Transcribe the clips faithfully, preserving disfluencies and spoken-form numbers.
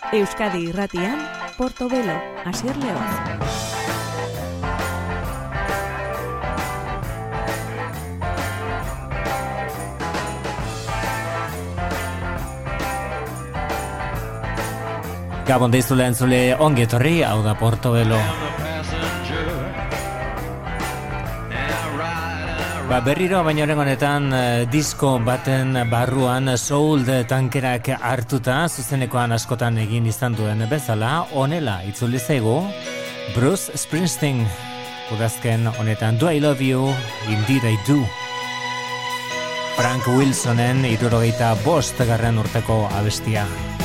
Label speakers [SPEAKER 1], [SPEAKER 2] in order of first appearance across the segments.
[SPEAKER 1] Euskadi Irratian, Portobelo, Asier Leoz.
[SPEAKER 2] Gabon deizule entzule ongi etorri, hau da Portobelo. Ba, berriro baina horren honetan disko baten barruan soul tankerak hartuta zuzenekoan askotan egin izan duen bezala, honela itzuli zaigu Bruce Springsteen udazken honetan Do I Love You, Indeed I Do. Frank Wilsonen hirurogeita bost garren urteko abestia.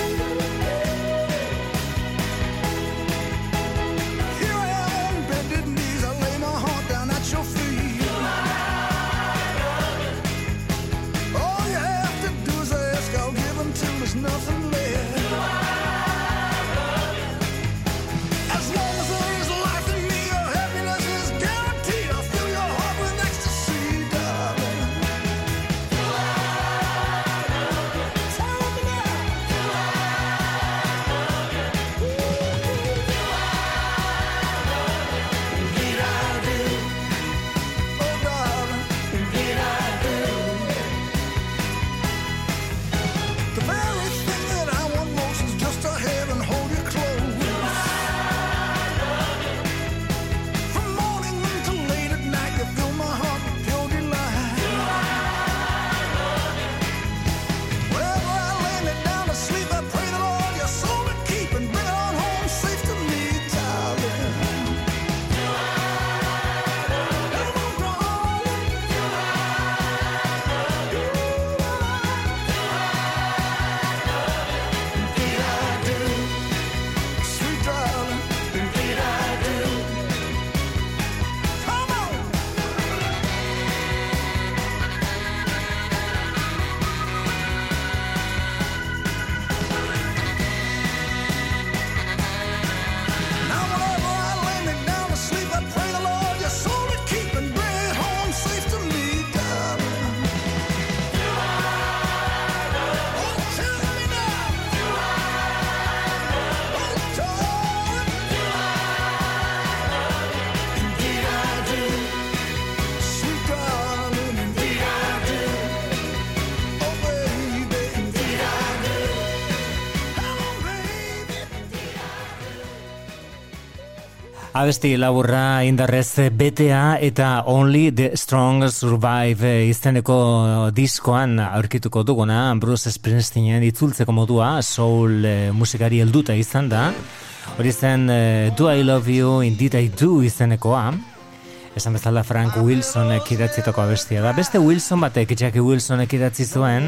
[SPEAKER 2] Abesti laburra indarrez betea eta Only the Strong Survive izeneko diskoan aurkituko duguna Bruce Springsteenen itzultzeko modua soul musikari helduta izan da. Hori zen Do I Love You, Indeed I Do izenekoa. Esan bezala Frank Wilsonek idatzitako abestia da. Beste Wilson batek, Jackie Wilsonek idatzi zuen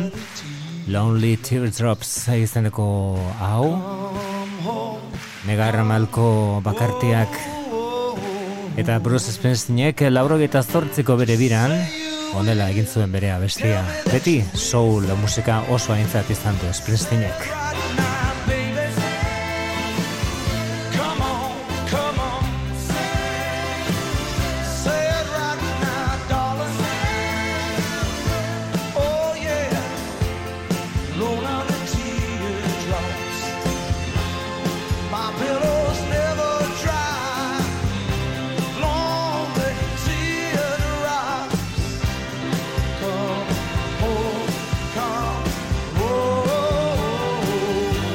[SPEAKER 2] Lonely Teardrops izeneko hau. Negar malko bakartiak eta Bruce Springsteenek laurogeita zortziko bere biran honela egin zuen bere abestia. Beti soul musika oso aintzat izan du Springsteenek.
[SPEAKER 3] Oh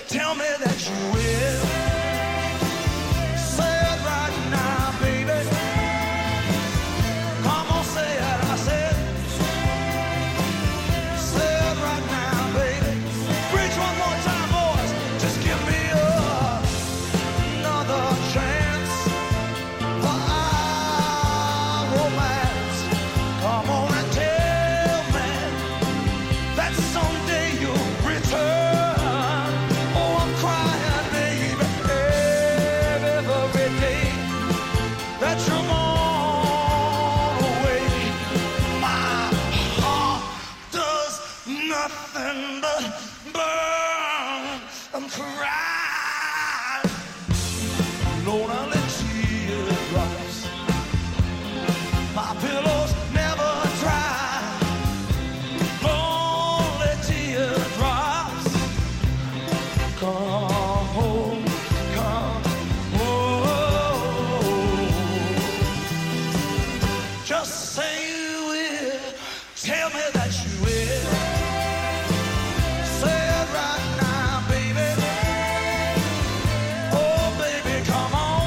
[SPEAKER 3] tell me that you will. Say it right now, baby. Come on, say it, I said. Say it right now, baby. Preach one more time, boys. Just give me a, another chance for our romance. Come on and tell me that someday you'll return. Oh, I'm crying, baby, every day that you're gone away. My heart does nothing but burn. I'm crying, lonely teardrops. My pillows never dry. Lonely teardrops. Come home, come home. Just say you will. Tell me that you will. Say it right now, baby. Oh, baby, come on.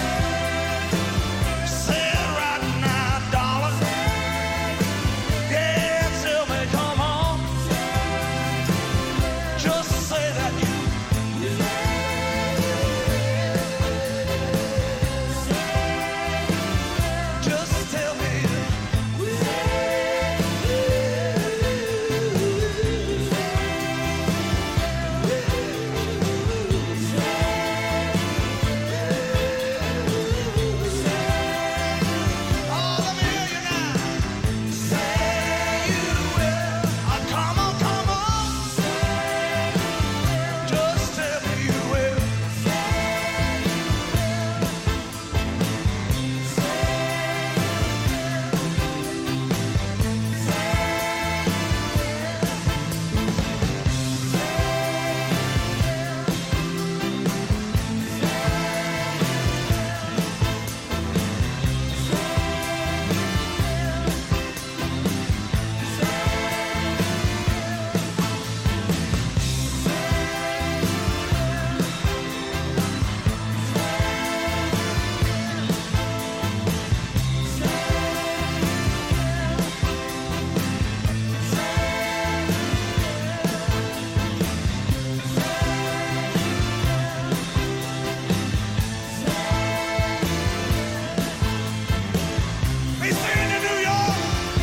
[SPEAKER 3] Say it right now, darling. Yeah, tell me, come on. Just say that you will. Just tell me you will. Oh, let me hear you now. Say you will. Oh, come on, come on. Just tell me you will. We sing in New York.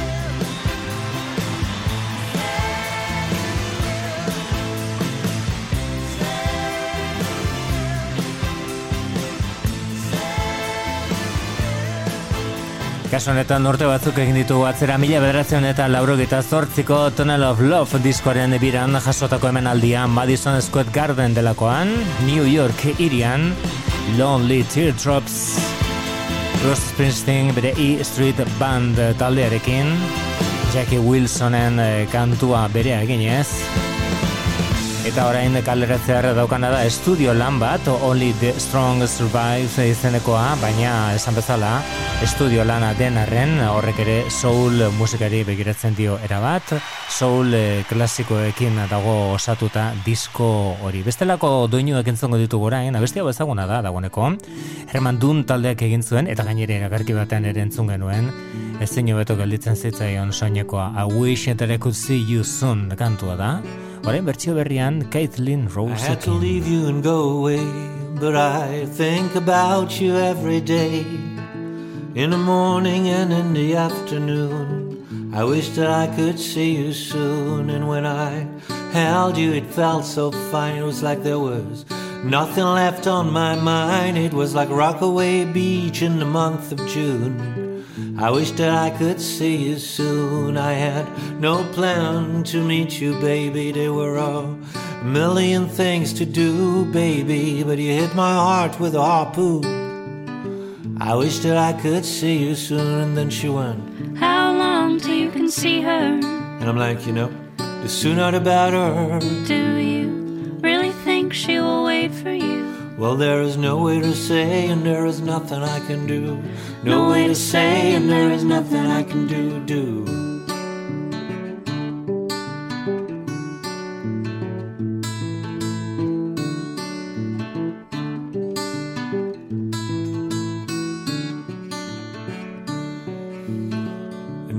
[SPEAKER 2] Kasu honetan urte batzuk egin ditugu atzera mila bederatziehun eta laurogeita zortziko Tunnel of Love diskoaren biran jasotako emanaldia Madison Square Garden delakoan, New York hirian, Lonely Teardrops, Bruce Springsteen bere E Street Band taldearekin, Jackie Wilsonen eh, kantua berea eginez, eta orain kaleratzear daukana da estudio lan bat, Only the Strong Survive izenekoa, baina esan bezala estudio lana den arren horrek ere soul musikari begiratzen dio erabat, soul eh, klasikoekin dago osatuta disko hori. Bestelako doinuak entzongo ditugu orain, abestia bezaguna da dagoeneko. Herman Dunn taldeak egin zuen eta gainera iragarki batean ere entzun genuen. Ezin hobeto gelditzen zitzaion soinekoa I Wish That I Could See You Soon kantua da. Orain bertsio berrian Caitlin Rose.
[SPEAKER 4] I had to leave you and go away, but I think about you every day. In the morning and in the afternoon, I wish that I could see you soon. And when I held you, it felt so fine. It was like there was nothing left on my mind. It was like Rockaway Beach in the month of June. I wish that I could see you soon. I had no plan to meet you, baby. There were a million things to do, baby, but you hit my heart with a harpoon. I wish that I could see you soon. And then she went,
[SPEAKER 5] how long till you can see her?
[SPEAKER 4] And I'm like, you know, the sooner the better.
[SPEAKER 5] Do you really think she will wait for you?
[SPEAKER 4] Well, there is no way to say, and there is nothing I can do. No way to say, and there is nothing I can do, do.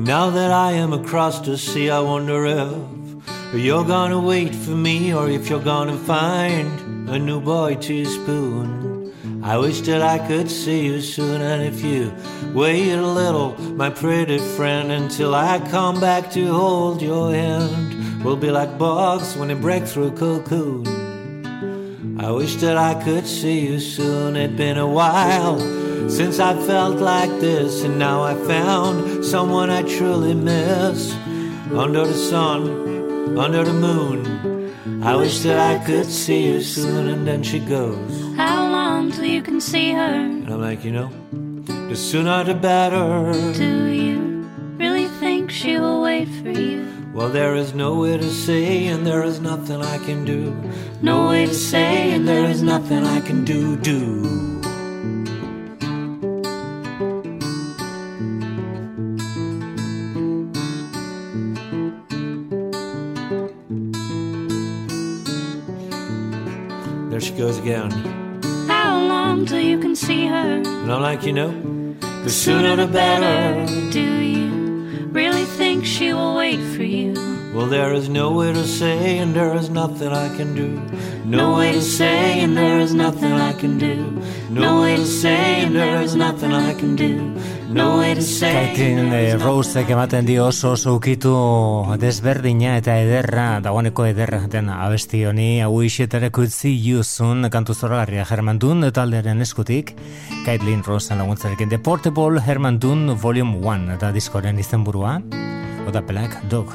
[SPEAKER 4] Now that I am across the sea, I wonder if you're gonna wait for me, or if you're gonna find a new boy to spoon. I wish that I could see you soon, and if you wait a little, my pretty friend, until I come back to hold your hand, we'll be like bugs when they break through a cocoon. I wish that I could see you soon. It's been a while since I felt like this, and now I found someone I truly miss. Under the sun, under the moon, I wish that I could see you soon. And then she goes,
[SPEAKER 5] how long till you can see her?
[SPEAKER 4] And I'm like, you know, the sooner the better.
[SPEAKER 5] Do you really think she will wait for you?
[SPEAKER 4] Well, there is no way to say, and there is nothing I can do.
[SPEAKER 5] No way to say, and there is nothing I
[SPEAKER 4] can do, do. There she goes again.
[SPEAKER 5] How long till you can see her?
[SPEAKER 4] And I'm like, you know, the sooner the better.
[SPEAKER 5] Do you really think she will wait for you?
[SPEAKER 4] Well, there is no way to say, and there is nothing I can do. No way to say, and there is nothing I can do. No way to say, and there is nothing I can do. No way to say.
[SPEAKER 2] Caitlin Rosek ematen dio oso oso ukitu desberdina eta ederra, dagoeneko ederra den abesti honi. I wish that I could see you soon, kantu zoragarria Herman Dunn taldearen eskutik. Caitlin Rosen laguntzarekin The Portable Herman Dunn Volume one eta diskoren izenburua, The Black Dog.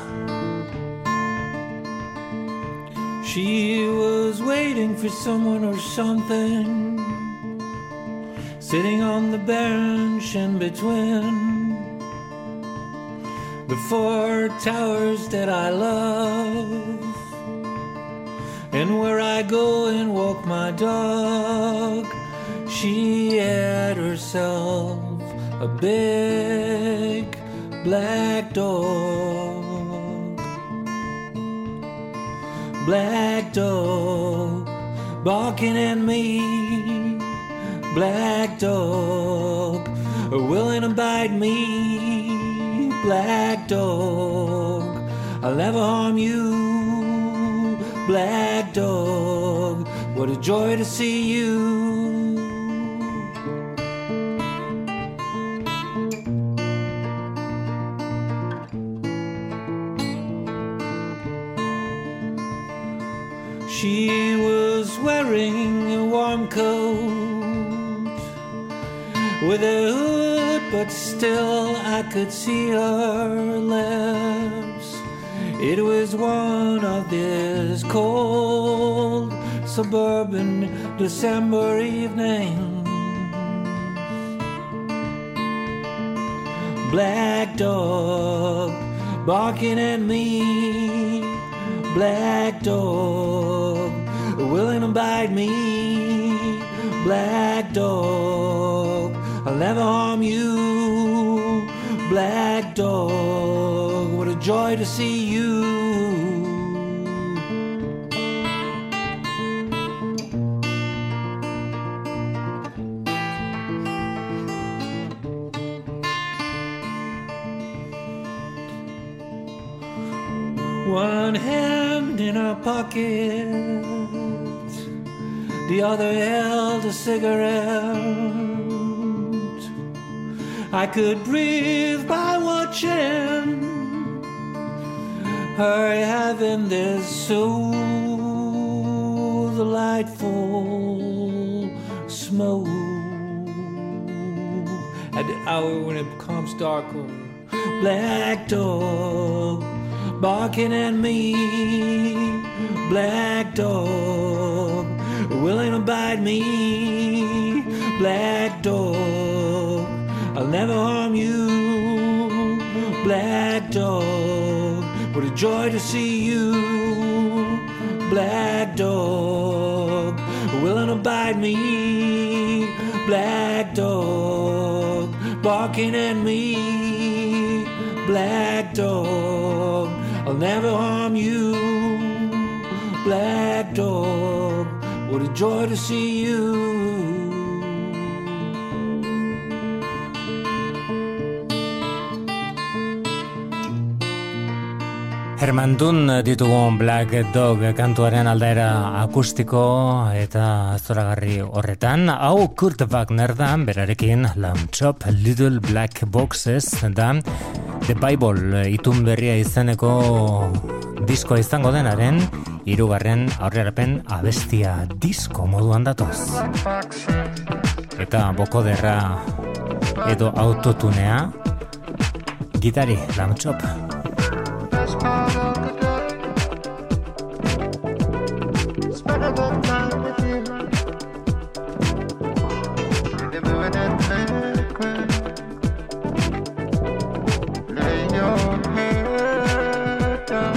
[SPEAKER 4] She was waiting for someone or something, sitting on the bench in between the four towers that I love, and where I go and walk my dog. She had herself a big black dog. Black dog barking at me. Black dog willing to bite me. Black dog, I'll never harm you. Black dog, what a joy to see you. She was wearing a warm coat with a hood, but still I could see her lips. It was one of these cold suburban December evenings. Black dog barking at me. Black dog willing to bite me. Black dog, I'll never harm you. Black dog, what a joy to see you. One hand in her pocket, the other held a cigarette. I could breathe by watching her having this so delightful smoke. At the hour when it becomes darker, black dog barking at me. Black dog willing to bite me. Black dog, I'll never harm you. Black dog, what a joy to see you. Black dog willing to bite me. Black dog barking at me. Black dog, I'll never harm you. Black dog, what a joy to see you.
[SPEAKER 2] Herman Dunn ditugun Black Dog kantuaren aldaera akustiko eta zoragarri horretan. Hau Kurt Wagner da, berarekin Lamb Chop, Little Black Boxes da The Bible itun berria izeneko diskoa izango denaren hirugarren aurrerapen abestia disko moduan datoz. Eta bokoderra edo autotunea gitari Lamb Chop.
[SPEAKER 3] Part of the day, spend the night with you. You're moving and liquid. Lay your head down.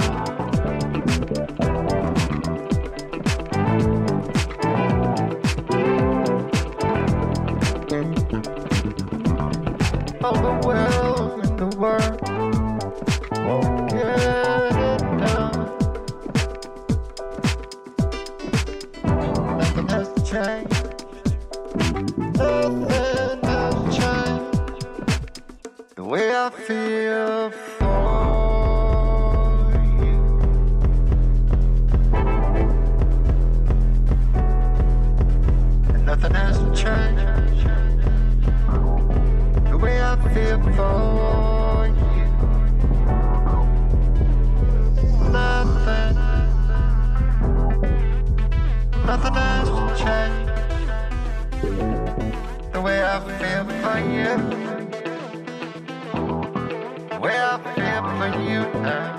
[SPEAKER 3] All the wealth in the world won't get it done. Nothing has changed. Nothing has changed. The way I feel for you. And nothing has changed. The way I feel for you. Nothing, nothing has changed. The way I feel for you, the way I feel for you now.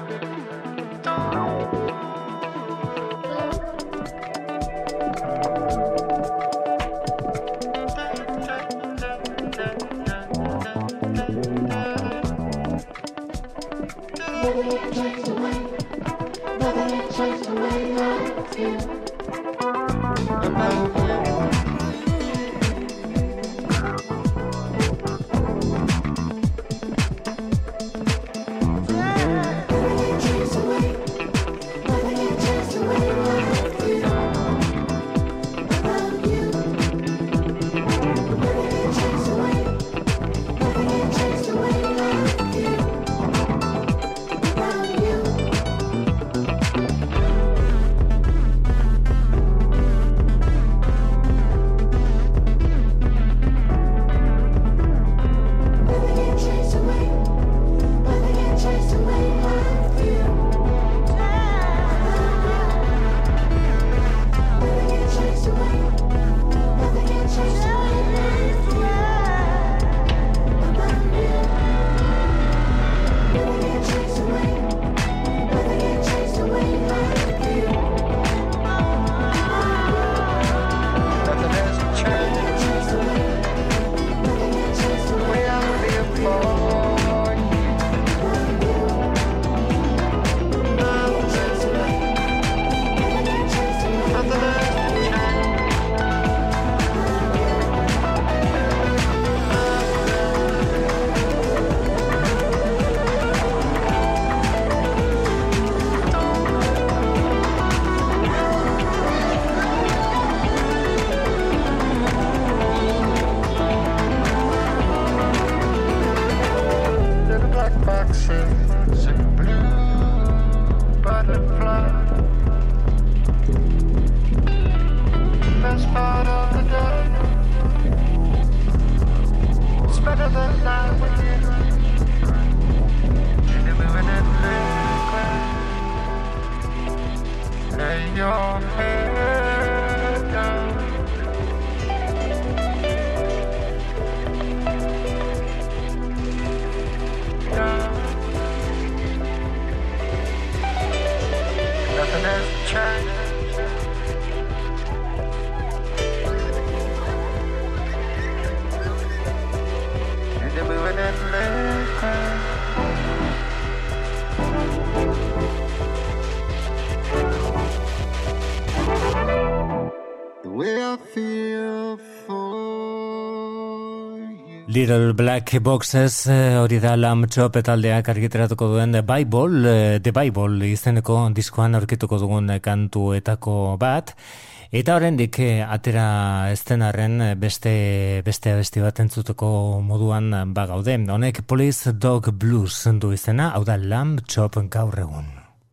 [SPEAKER 2] Little Black Boxes hori da Lamb Chop taldeak argitaratuko duen The Bible, The Bible izeneko diskoan aurkituko dugun kantuetako bat. Eta oraindik atera estenarren beste beste abesti bat entzuteko moduan bagaude. Honek Police Dog Blues du izena, hau da Lamb Chop gaur egun.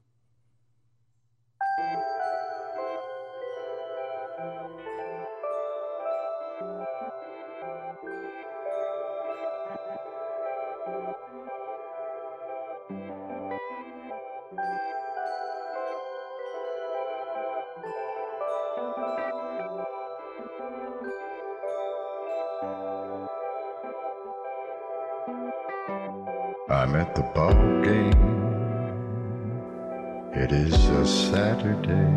[SPEAKER 6] I'm at the ball game. It is a Saturday.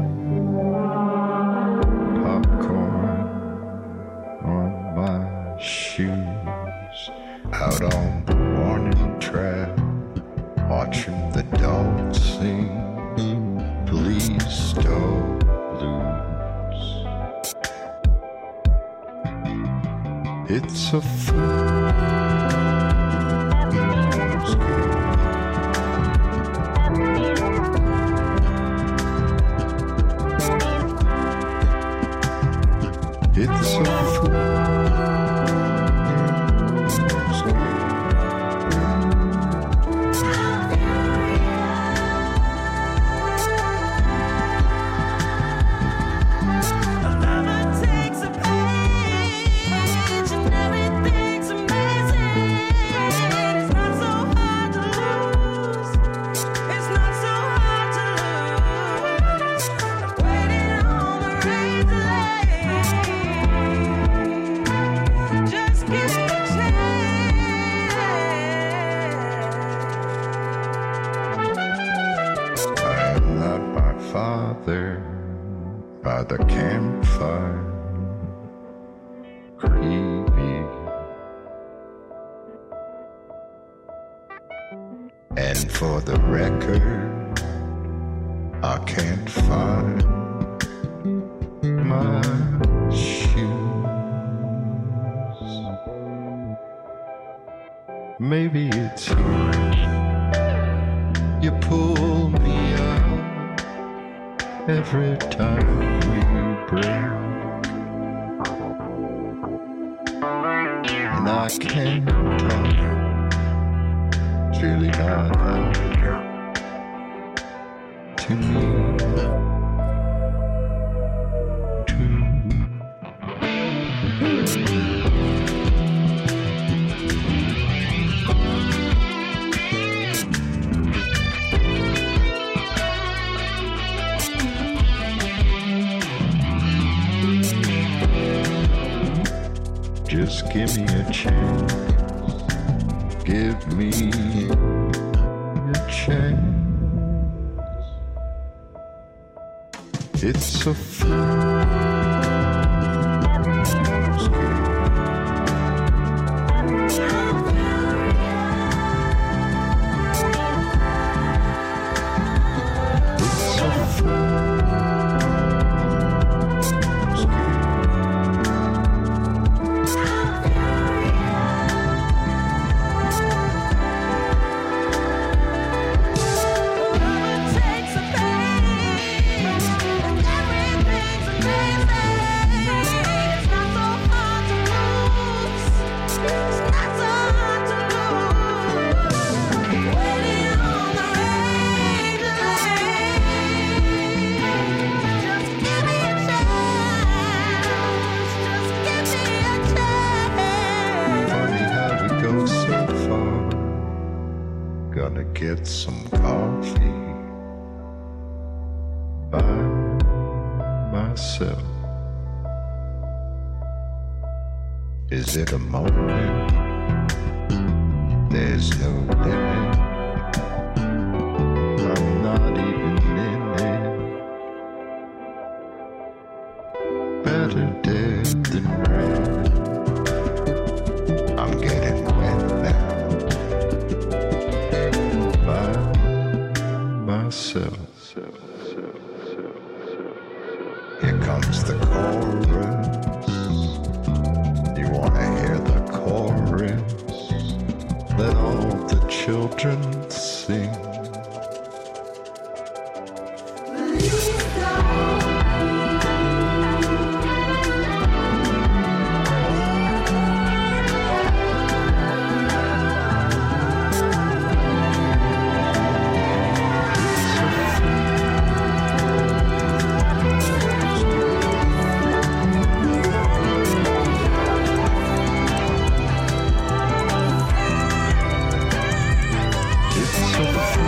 [SPEAKER 6] Popcorn on my shoes. Out on the warning track, watching the dogs sing. Please don't lose. It's a fool's game. It's a fool's game. By the campfire, creepy, and for the record, I can't find my shoes. Maybe it's you. You pull me up every time we break, and I can't talk. It's really not out to me. Just give me a chance, give me a chance. It's a fool's game. It's a fool's game. Gonna get some coffee by myself. Is it a moment? There's no limit. I'm not even in it. Better dead than red. I'm getting wet now. Myself. Here comes the chorus. You wanna hear the chorus? Let all the children sing. So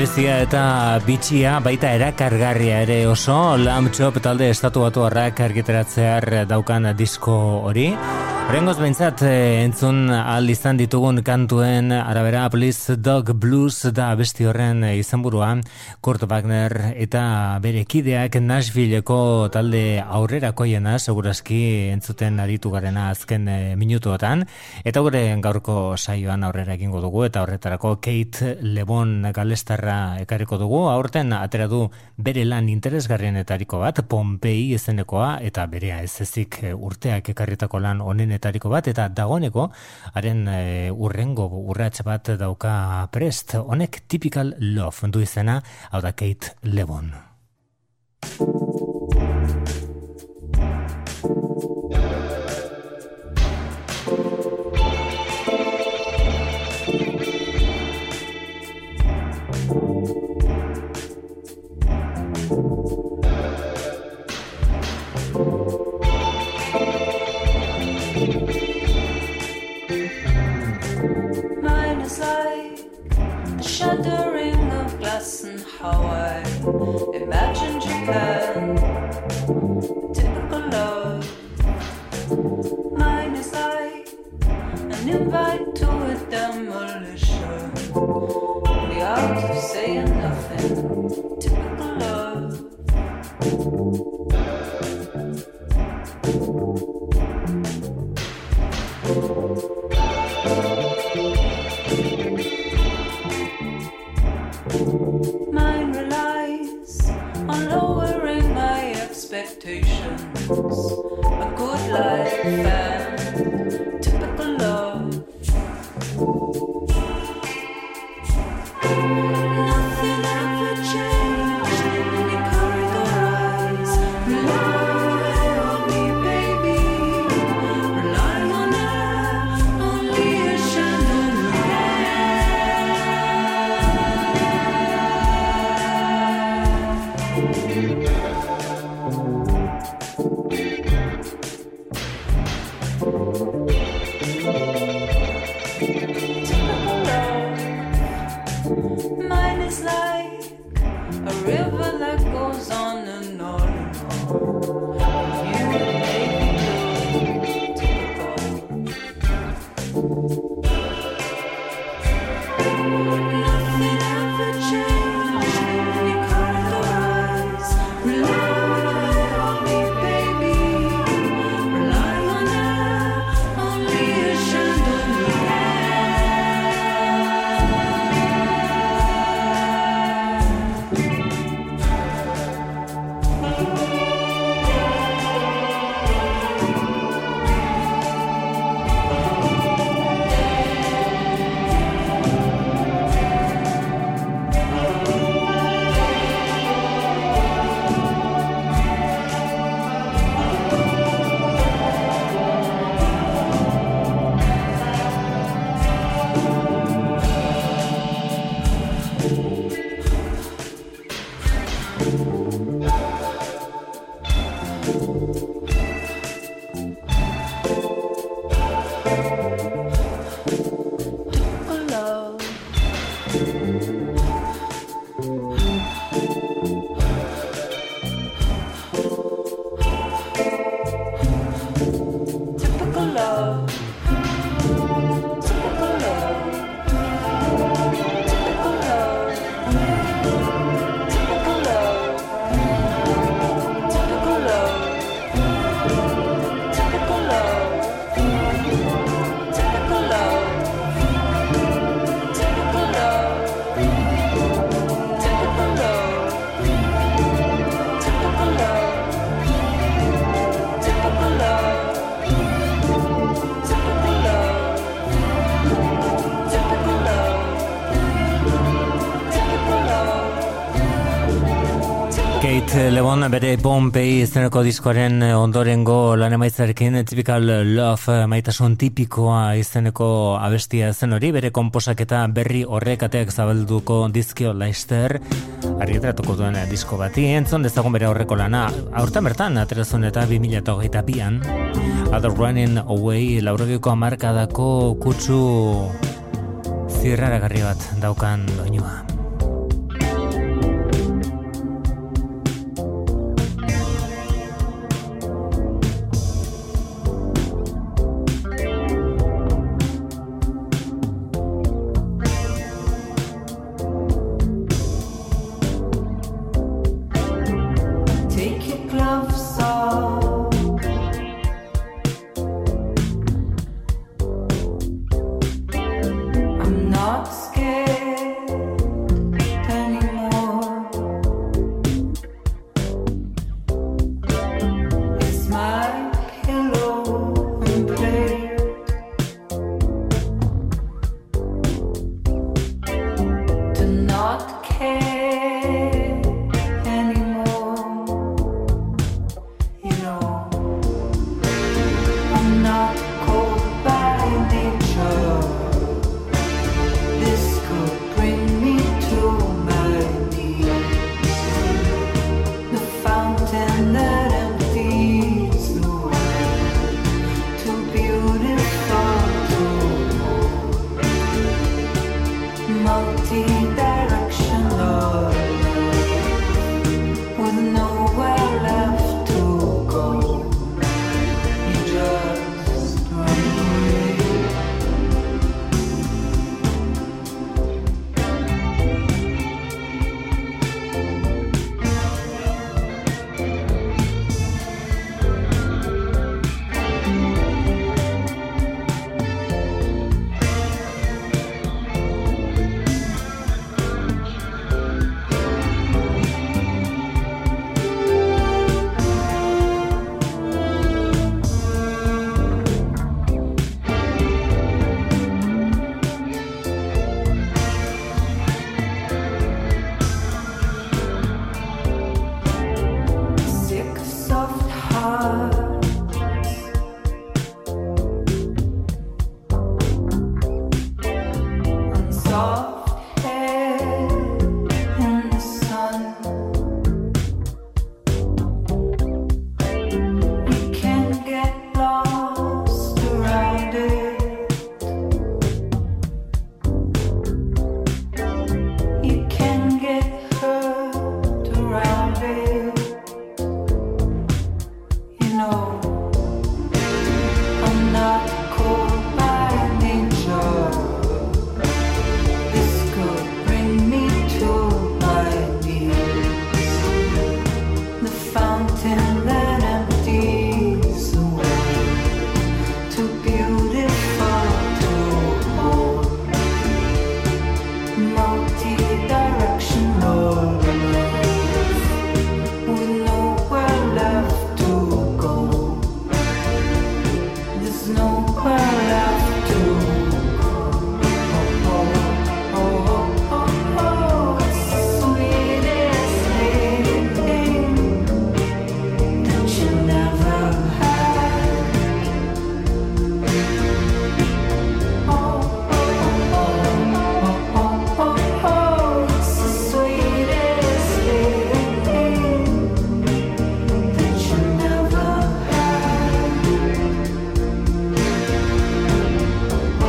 [SPEAKER 2] berezia eta bitxia, baita erakargarria ere oso, Lamb Chop talde estatu batuarrak argitaratzear daukan disko hori. Horrengoz behintzat entzun ahal izan ditugun kantuen arabera Please Dog Blues da abesti horren izenburua, Kurt Wagner eta bere kideak Nashvilleko talde aurrerakoiena segurazki entzuten aritu garena azken minutuotan, eta gure gaurko saioan aurrera egingo dugu, eta horretarako Kate LeBon galestarra ekarriko dugu. Aurten atera du bere lan interesgarrienetariko bat, Pompei izenekoa, eta berea ez ezik urteak ekarritako lan onenetariko bat, eta dagoeneko haren e, urrengo urrats bat dauka prest. Honek Typical Love du izena, hau da Kate LeBon.
[SPEAKER 7] Mine is like the shattering of glass and how I imagine Japan. Typical love. Mine is like an invite to a demolition. The art of saying nothing. Typical love. Mine relies on lowering my expectations. A good life and typical love. Nothing ever changed. You carry the rise. Rely on me, baby. Rely on air, only a Mine is like a river that goes on and on and on. You make me blue, typical. Nothing ever changed. You carry the rise. Rely on me, baby. Rely on air, only a chandelier.
[SPEAKER 2] Kate LeBon bere Pompei izeneko diskoaren ondorengo lan emaitzarekin Typical Love, maitasun tipikoa izeneko abestia zen hori, bere konposaketa berri horrek ateak zabalduko dizkio Leister argitaratuko duen disko bati. Entzun dezagun bere horreko lana, aurten bertan aterazun eta bi mila hogeita bian Other Running Away laurogiko hamarkadako kutsu zirraragarri bat daukan doinua.
[SPEAKER 7] gloves off. I'm not scared anymore. It's my pillow and plate. To not care anymore. You know, I'm not cold by nature. This could bring me to my knees. The fountain that empties the world, too beautiful to hold. Multi-directional, with nowhere left to go. You just run away. Sick, soft heart, and soft hair in the sun. You can get lost around it. You can get hurt around it. You know, I'm not cold by nature. This could bring me to my knees. The fountain that empties the world, too beautiful to hold. Multi-directional, with nowhere left to go. There's nowhere left to go. Oh, oh, oh, oh, oh, it's the sweetest thing that you never had. Oh, oh, oh, oh, oh, oh, it's the sweetest thing that you never had. Oh,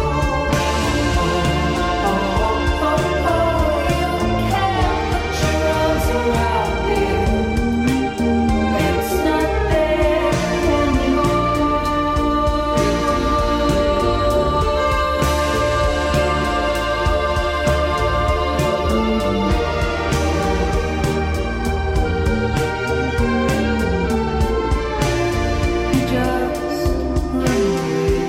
[SPEAKER 7] oh, oh, oh, you can't put your arms around it. It's not there anymore. You just run away.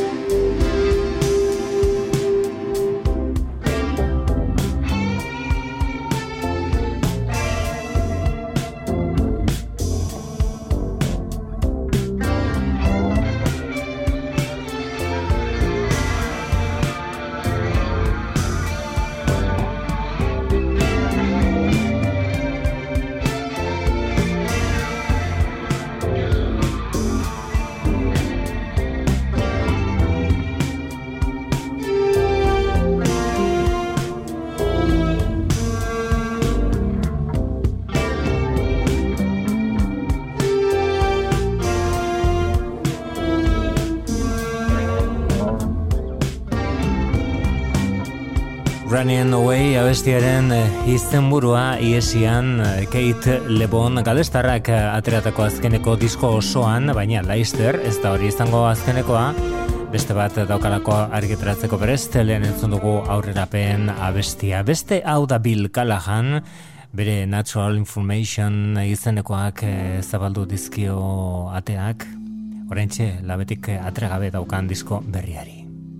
[SPEAKER 2] Running Away abestiaren eh, izenburua iesian eh, Kate LeBon galestarrak eh, ateratako azkeneko disko osoan, baina Leister ez da hori izango azkenekoa, beste bat daukalako argitaratzeko berez, lehen entzun dugu aurrerapen abestia. Beste hau da Bill Callahan, bere Natural Information izenekoak eh, zabaldu dizkio ateak, oraintxe labetik atregabe daukan disko berriari.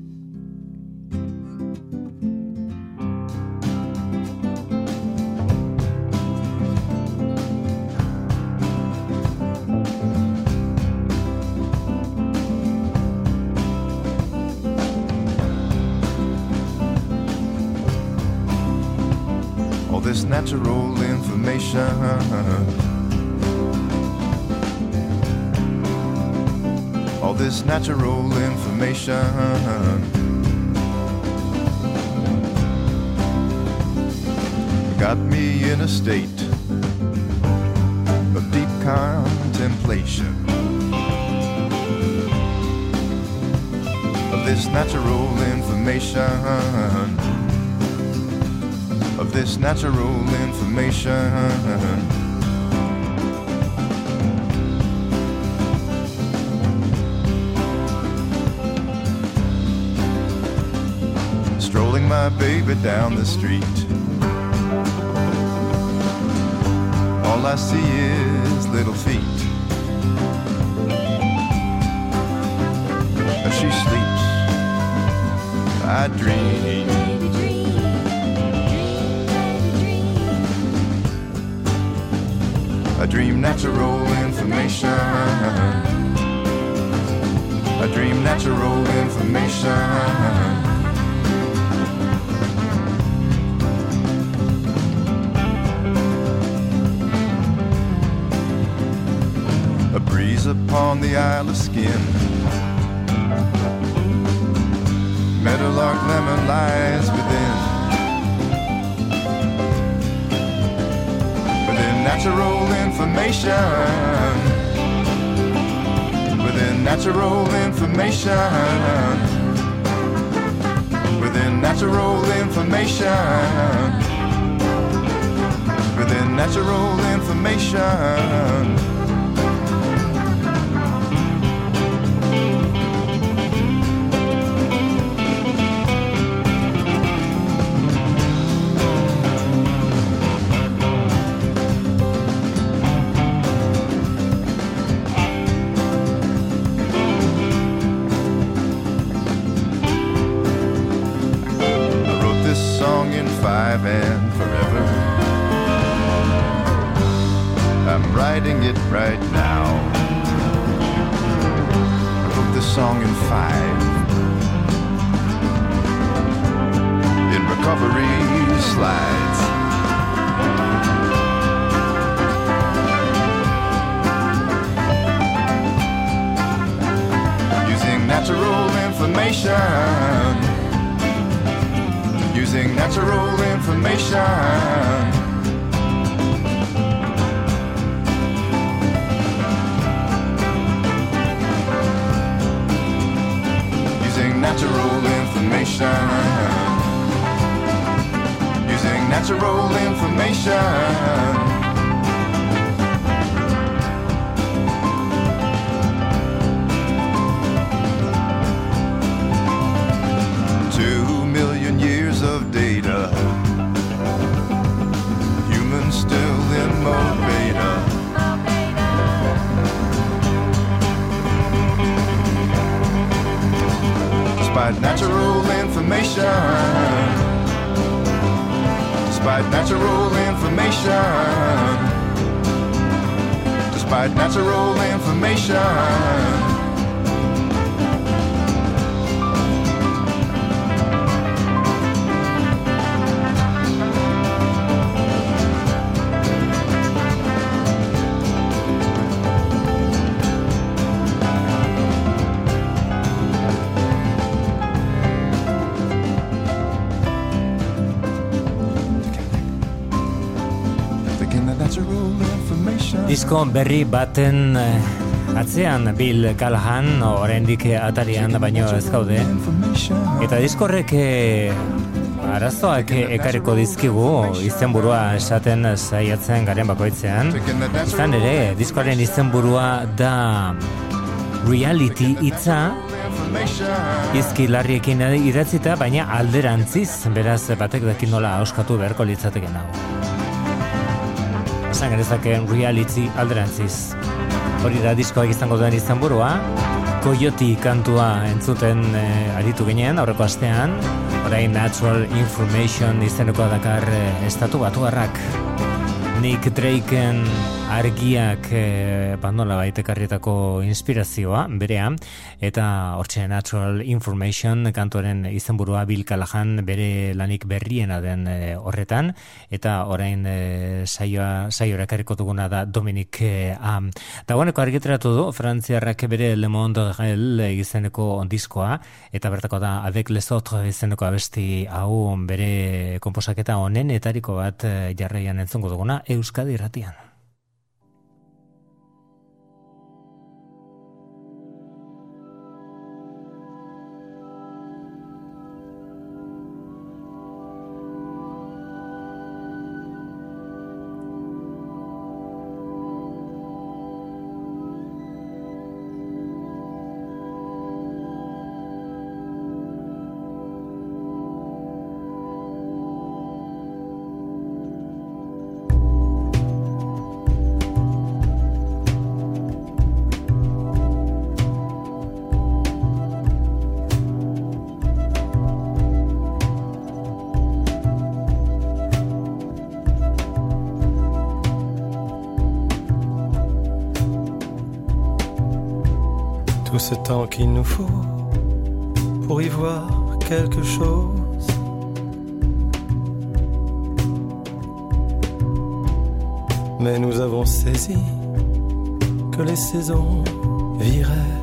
[SPEAKER 6] This natural information, all this natural information got me in a state of deep contemplation of this natural information, of this natural information. Strolling my baby down the street, all I see is little feet. As she sleeps, I dream. I dream natural information. I dream natural information. A breeze upon the Isle of Skin, meadowlark lemon lies within. Natural information, within natural information, within natural information, within natural information. And forever, I'm writing it right now. I wrote this song in five, in recovery slides. Using natural information, using natural information, using natural information, using natural information. Of data, humans still in mode beta. Despite natural information, despite natural information, despite natural information.
[SPEAKER 2] Disko berri baten atzean Bill Callahan oraindik atarian baino ez gaude. Eta diskorrek arazoak ekarriko dizkigu izenburua esaten saiatzen garen bakoitzean. Izan ere, diskoaren izenburua da reality hitza, izki larriekin idatzita, baina alderantziz, beraz batek dakin nola auskatu beharko litzateken hau. esan genezakeen reality alderantziz. Hori da diskoak izango duen izenburua, Coyote kantua entzuten eh, aritu ginen aurreko astean, orain Natural Information izeneko dakar eh, estatu batuarrak. Nick Drakeen argiak eh, bandola baitekarrietako inspirazioa, berea, eta hortxe Natural Information kantuaren izenburua Bill Callahan bere lanik berriena den eh, horretan, eta orain eh, saioa, saioa ekarriko duguna da Dominic eh, A. Dagoeneko argitaratu du, frantziarrak bere Le Monde Réel izeneko diskoa, eta bertako da Avec les autres izeneko abesti hau bere konposaketa honenetariko bat eh, jarraian entzungo duguna Euskadi irratian.
[SPEAKER 8] Tout ce temps qu'il nous faut pour y voir quelque chose. Mais nous avons saisi que les saisons viraient.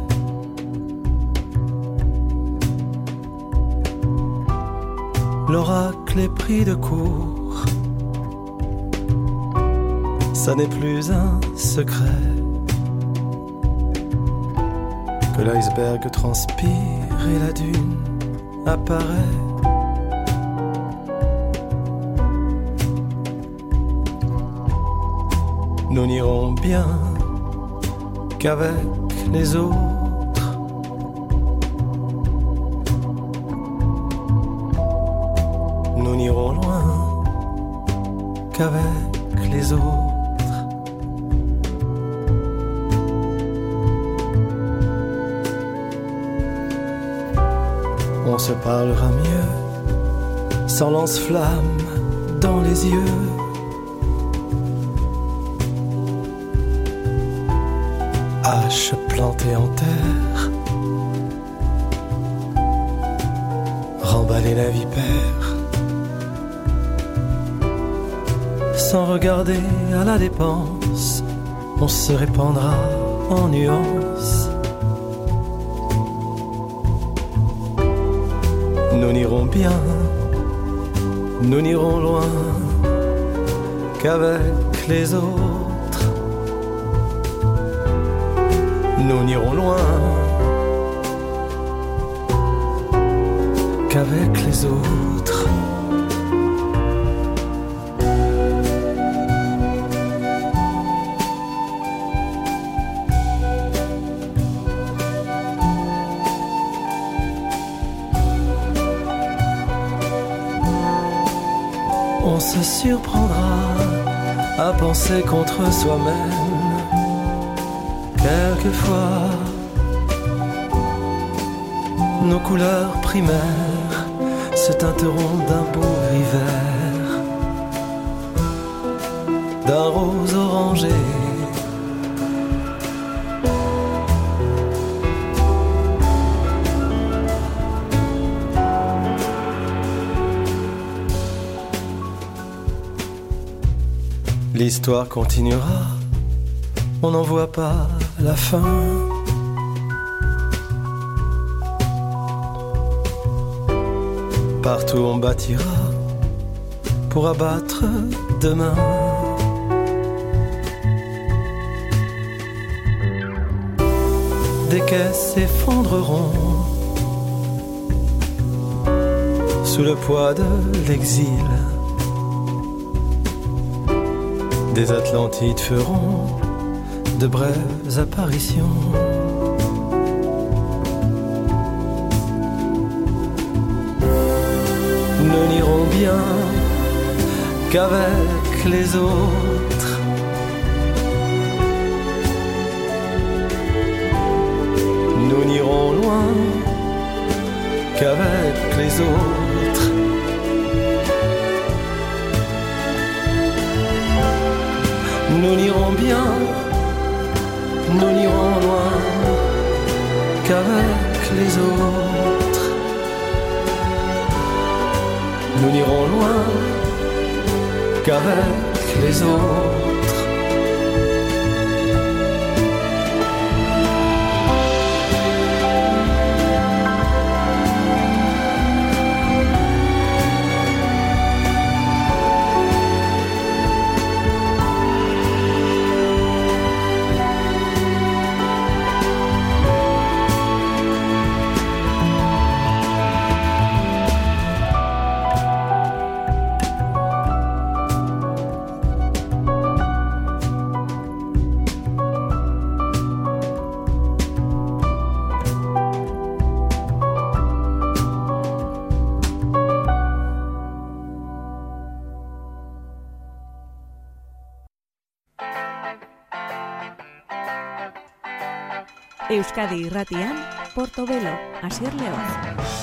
[SPEAKER 8] L'oracle est pris de court, ça n'est plus un secret. Que l'iceberg transpire et la dune apparaît. Nous n'irons bien qu'avec les autres. Nous n'irons loin qu'avec les autres. On se parlera mieux, sans lance-flamme dans les yeux. Hache plantée en terre, remballer la vipère, sans regarder à la dépense, on se répandra en nuances. Nous n'irons bien, nous n'irons loin qu'avec les autres. Nous n'irons loin qu'avec les autres. On se surprendra à penser contre soi-même. Quelquefois, nos couleurs primaires se teinteront d'un beau hiver, d'un rose orangé. L'histoire continuera, on n'en voit pas la fin. Partout on bâtira pour abattre demain. Des caisses s'effondreront sous le poids de l'exil. Des Atlantides feront de brèves apparitions. Nous n'irons bien qu'avec les autres. nous n'irons loin qu'avec les autres. Nous n'irons loin qu'avec les autres.
[SPEAKER 1] Euskadi Irratian, Portobelo, Asier Leoz.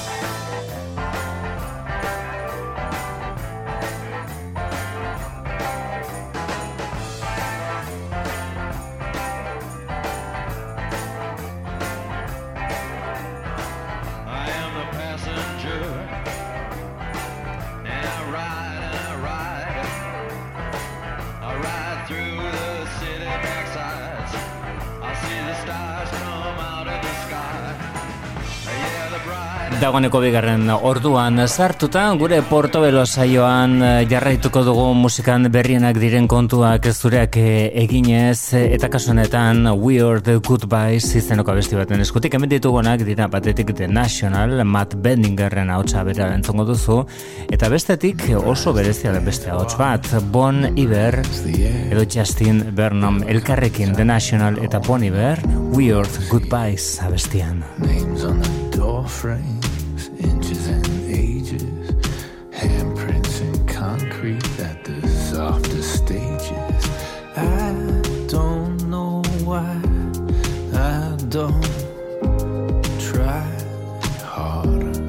[SPEAKER 2] Dagoeneko bigarren orduan sartuta, gure Portobelo saioan jarraituko dugu musikan berrienak diren kontuak zureak eginez, eta kasu honetan Weird Goodbyes izeneko abesti baten eskutik. Hemen ditugunak dira batetik The National, Matt Benningerren ahotsa bera entzongo duzu, eta bestetik oso berezia den beste ahots bat, Bon Iver edo Justin Vernon elkarrekin The National eta Bon Iver, Weird Goodbyes abestian.
[SPEAKER 9] Names on the door frames, inches and ages, handprints in concrete at the softest stages. I don't know why I don't try harder.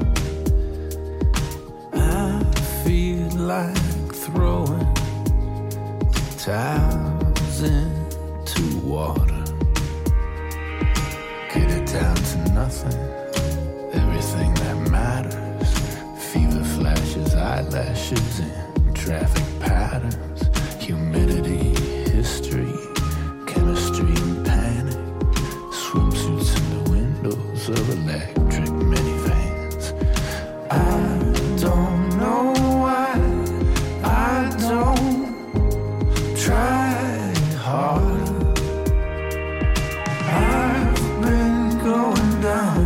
[SPEAKER 9] I feel like throwing towels into water. Get it down to nothing. Everything that matters. Fever flashes, eyelashes, and traffic patterns. Humidity, history, chemistry, and panic. Swimsuits in the windows of electric minivans. I don't know why I don't try harder. I've been going down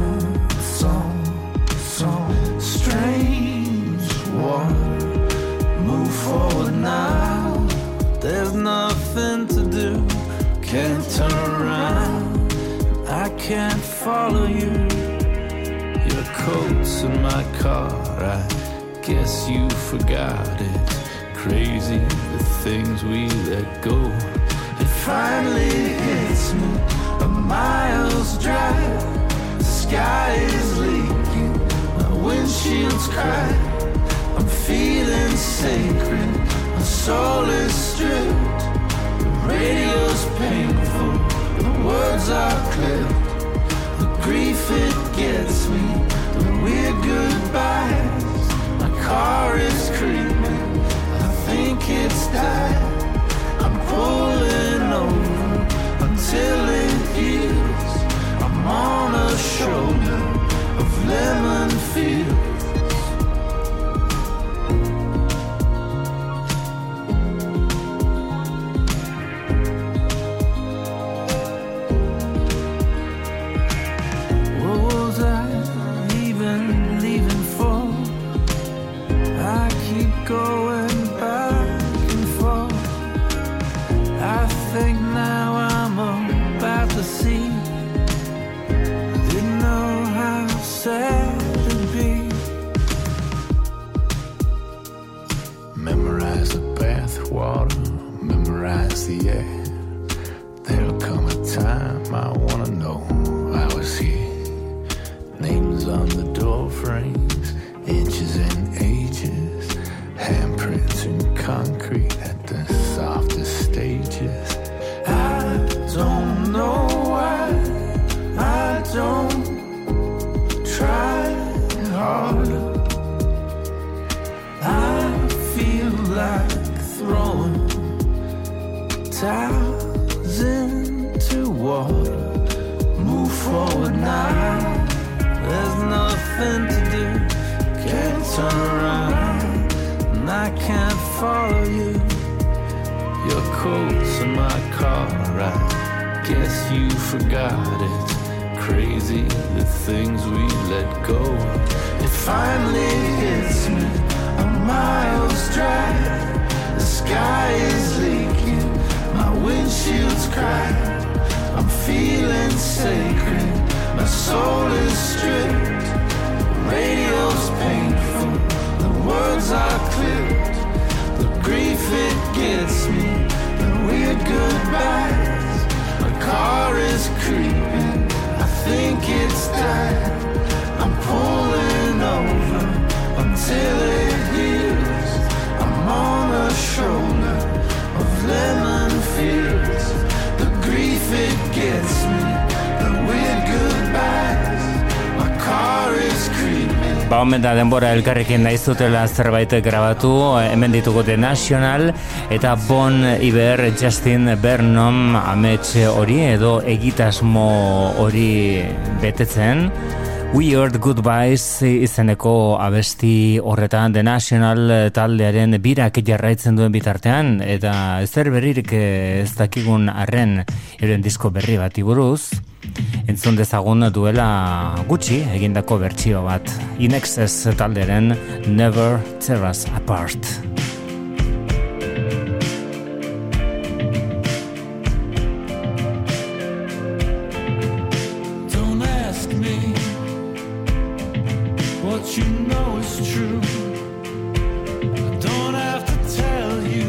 [SPEAKER 9] strange water. Move forward now. There's nothing to do. Can't turn around. I can't follow you. Your coat's in my car. I guess you forgot it. Crazy the things we let go. It finally hits me. A mile's drive. The sky is leaking. Windshield's cracked. I'm feeling sacred. My soul is stripped. The radio's painful. The words are clipped. The grief it gets me. The weird goodbyes. My car is creeping. I think it's died. I'm pulling over until it heals. I'm on a shoulder of lemon fields. What was I even leaving for? I keep going back and forth. I think now I'm about to see. Didn't know how sad it'd be. Memorize the bathwater, memorize the air. There'll come a time I wanna know I was here. Names on the door frames, inches and ages, handprints in concrete at the softest stages. I don't know why forward now. There's nothing to do. Can't turn around, and I can't follow you. Your coat's in my car, I guess you forgot it. Crazy the things we let go. It finally hits me, a miles drive. The sky is leaking, my windshield's cracked. I'm feeling sacred, my soul is stripped. Radio's painful, the words are clipped. The grief it gets me, the weird goodbyes. My car is creeping, I think it's died. I'm pulling over until it heals. I'm on a shoulder of lemon fields. The grief it gets me, the weird goodbyes. My car is creeping.
[SPEAKER 2] Ba, omen da denbora elkarrekin naizutela zerbait grabatu, hemen ditugu The National eta Bon Iver, Justin Vernon amets hori edo egitasmo hori betetzen. Weird Goodbyes izeneko abesti horretan The National taldearen birak jarraitzen duen bitartean, eta ezer berririk ez dakigun arren euren disko berri bati buruz entzun dezagun duela gutxi egindako bertsio bat, In Excess taldearen Never Tear Us Apart.
[SPEAKER 9] Don't ask me what you know is true. I don't have to tell you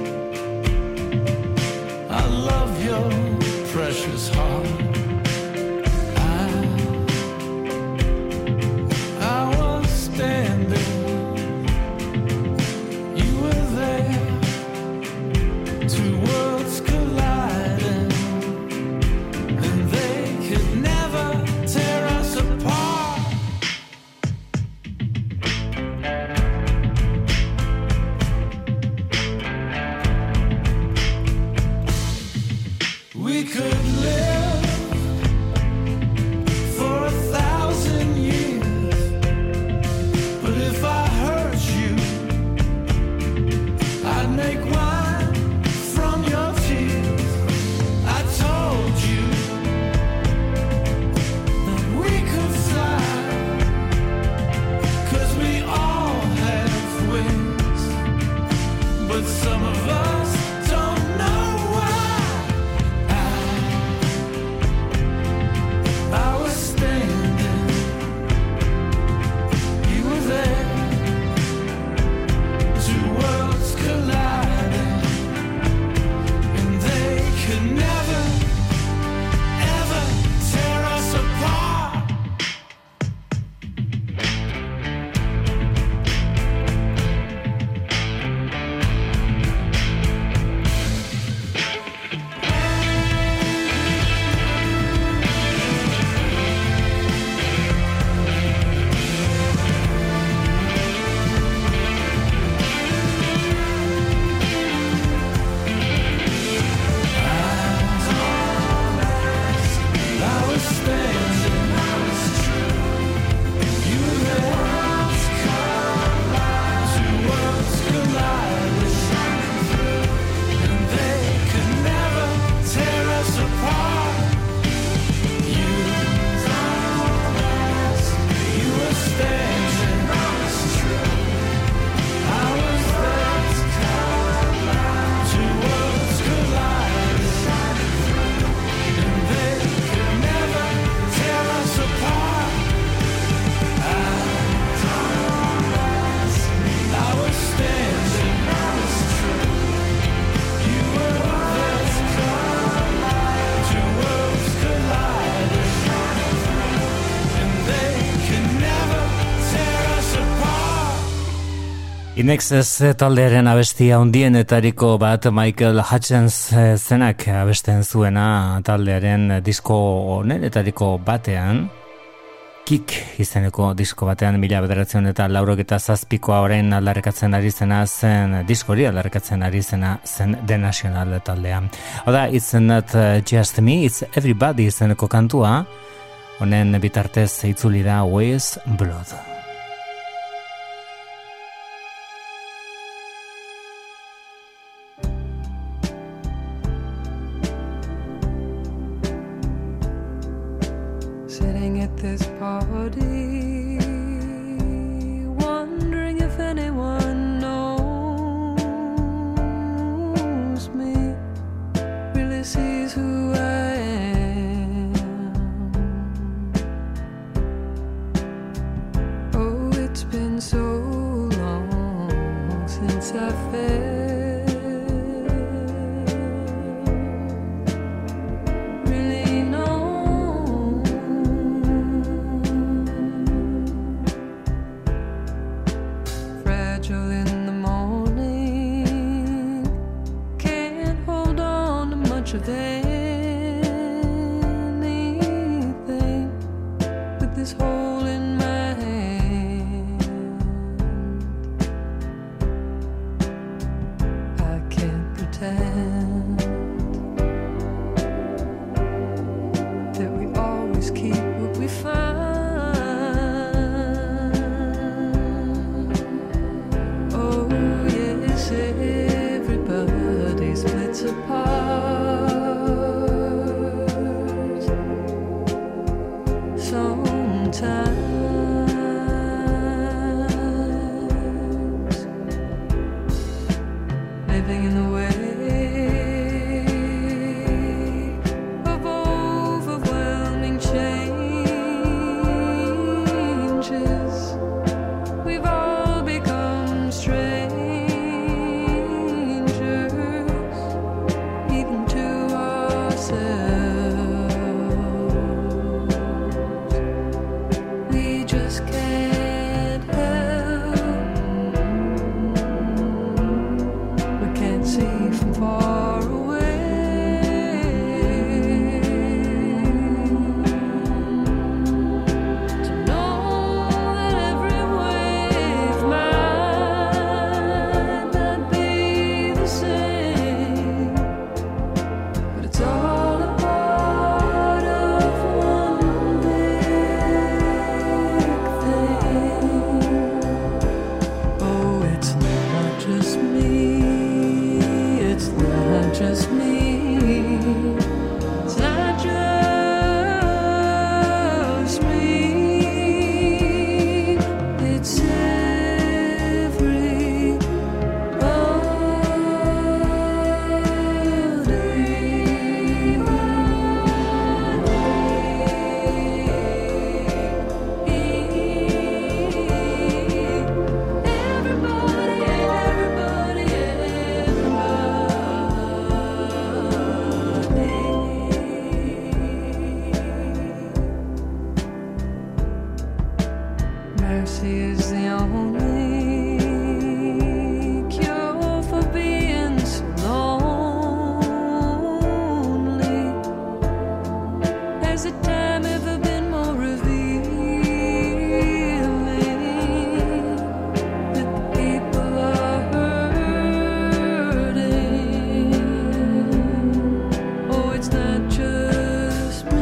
[SPEAKER 9] I love your precious heart.
[SPEAKER 2] In Excess taldearen abestia handienetariko bat Michael Hutchence zenak abesten zuena taldearen disko honetariko batean, Kick izeneko disko batean mila bederatziehun eta laurogeta zazpikoa orain aldarrekatzen ari zena zen diskori aldarrekatzen ari zena zen The National taldea. Oda, It's Not Just Me, It's Everybody izeneko kantua, Honen bitartez itzuli da Weyes Blood.
[SPEAKER 7] Sitting at this party, wondering if anyone knows me, really sees who I am. Oh, it's been so long since I felt of anything with this hole in my hand. I can't pretend that we always keep what we find. Oh yes, everybody splits apart. Sometimes living in the way of overwhelming changes, we've all become strangers, even to ourselves. Just can't help, we can't see from far away, to know that every wave might not be the same, but it's all a part of one big. Oh, it's not just me, it's not just me, it's not just me, it's mercy is the only cure for being so lonely. Has the time ever been more revealing that the people are hurting? Oh, it's not just me.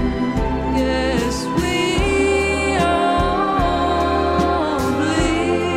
[SPEAKER 7] Yes, we all bleed.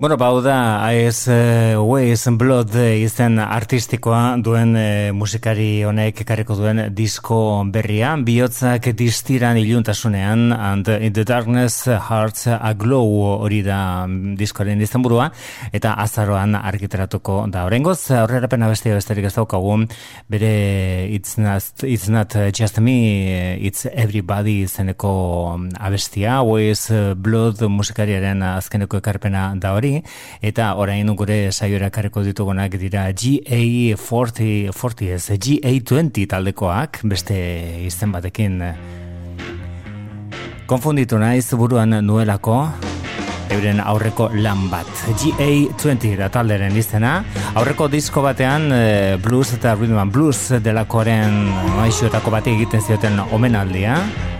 [SPEAKER 2] Bueno, bau da Eyes Ways and Blood izen artistikoa duen e, musikari honek ekarriko duen disko berria, bihotzak distiran iluntasunean, and in the darkness hearts aglow hori da diskoaren izenburua, eta azaroan argitaratuko da. Oraingoz aurrerapen abestia besterik ez daukagu, bere it's not, it's not just me, it's everybody izeneko abestia, Ways Blood musikariaren azkeneko ekarpena da hori, eta orain gure saiora ekarriko ditugunak dira G A forty, forty ez, G A twenty taldekoak, beste izen batekin konfunditu naiz buruan nuelako euren aurreko lan bat. G A twenty da talderen izena, aurreko disko batean blues eta rhythm and blues delakoaren maixuetako bati egiten zioten omenaldia.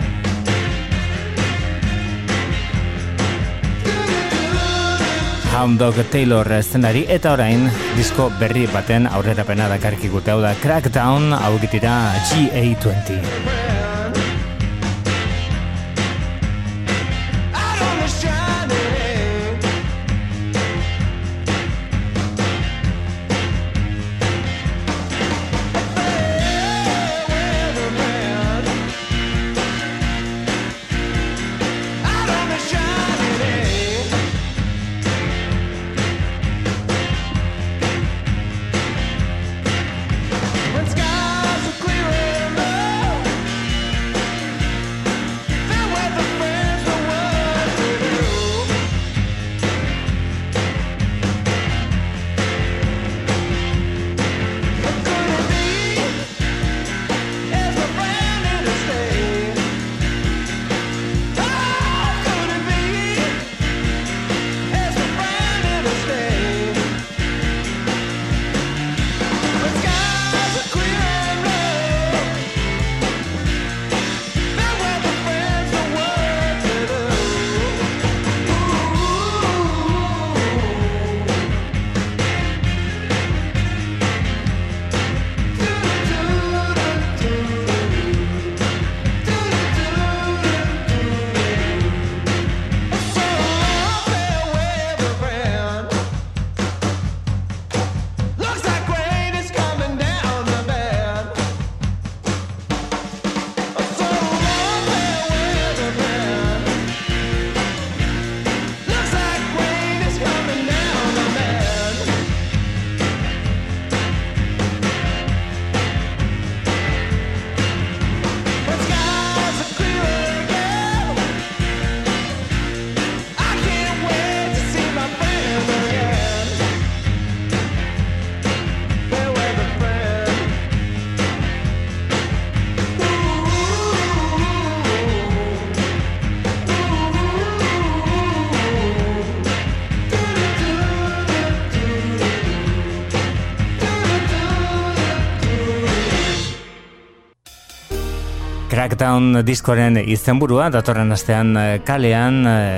[SPEAKER 2] Hound Dog Taylor zenari, eta orain disko berri baten aurrerapena dakarkigute, hau da Crackdown, hau gitira G A twenty. Crackdown diskoren izenburua, datorren astean kalean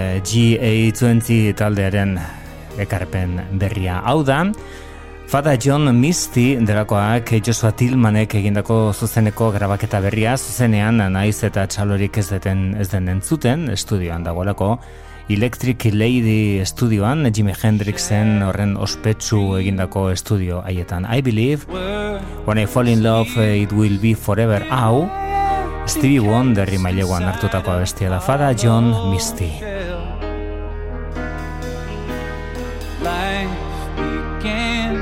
[SPEAKER 2] G A twenty taldearen ekarpen berria. Hau da, Father John Misty delakoak Joshua Tillmanek egindako zuzeneko grabaketa berria, zuzenean naiz eta txalorik ez deten ez den entzuten, estudioan dagoelako, Electric Lady estudioan, Jimi Hendrixen horren ospetsu egindako estudio haietan. I believe, when I fall in love, it will be forever. Hau, Stevie Wonderri maileguan hartutako abestia da, Father John Misty.
[SPEAKER 9] Life began,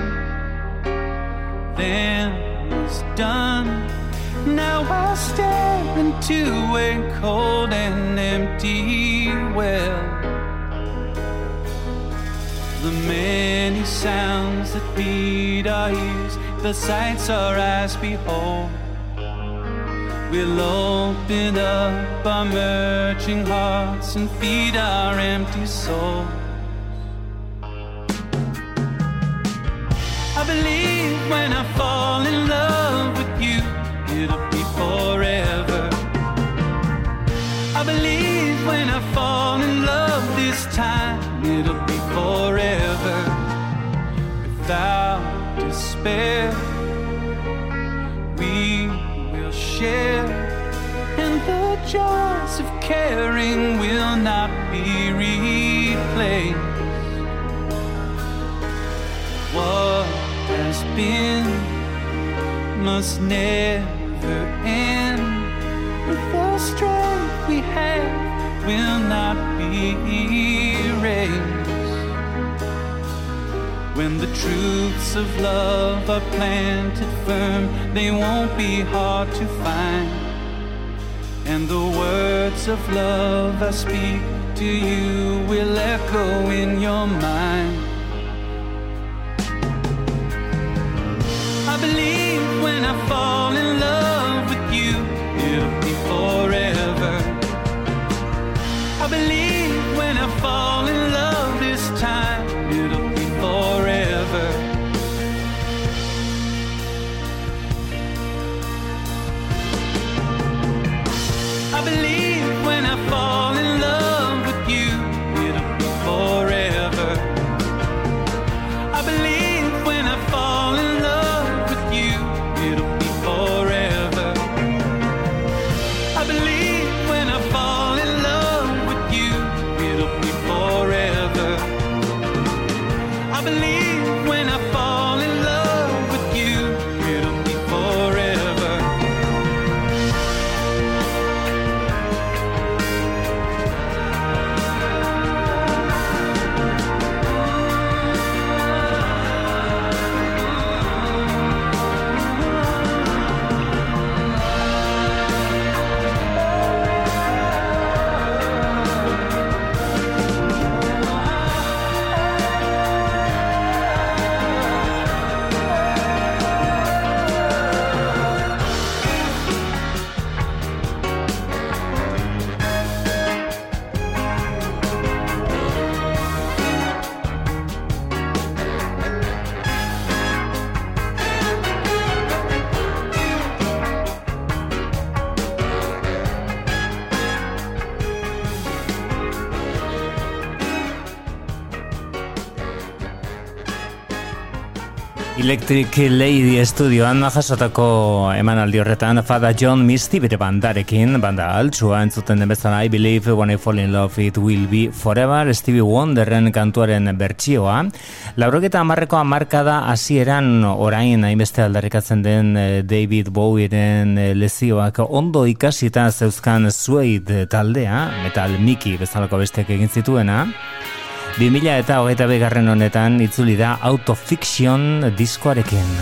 [SPEAKER 9] then was done. Now I stare into a cold and empty well. The many sounds that feed our ears, the sights our eyes behold, we'll open up our merging hearts and feed our empty souls. I believe when I fall in love with you, it'll be forever. I believe when I fall in love this time, it'll be forever. Without despair, we will share, and the joys of caring will not be replaced. been must never end. The strength we have will not be erased. When the truths of love are planted firm, they won't be hard to find. And the words of love I speak to you will echo in your mind. I believe when I fall in love with you, it'll be forever. I believe when I fall in love this time, it'll be forever. I believe when I fall in love with you, it'll be forever. I believe when I fall in love with you, it'll be forever. I believe when I fall in love with you, it'll be forever. I believe when I fall in love with you, it'll be forever.
[SPEAKER 2] Electric Lady Estudioan jasotako emanaldi horretan Father John Misty bere bandarekin, banda altsua entzuten den bezala I Believe When I Fall in Love It Will Be Forever, Stevie Wonderren kantuaren bertsioa. Laurogeta hamarreko hamarkada hasieran orain hainbeste aldarrikatzen den David Bowieren lezioak ondo ikasita zeuzkan Suede taldea, Metal Mickey bezalako besteak egin zituena. bi mila eta hogeita bigarren honetan itzuli da Autofiction diskoarekin.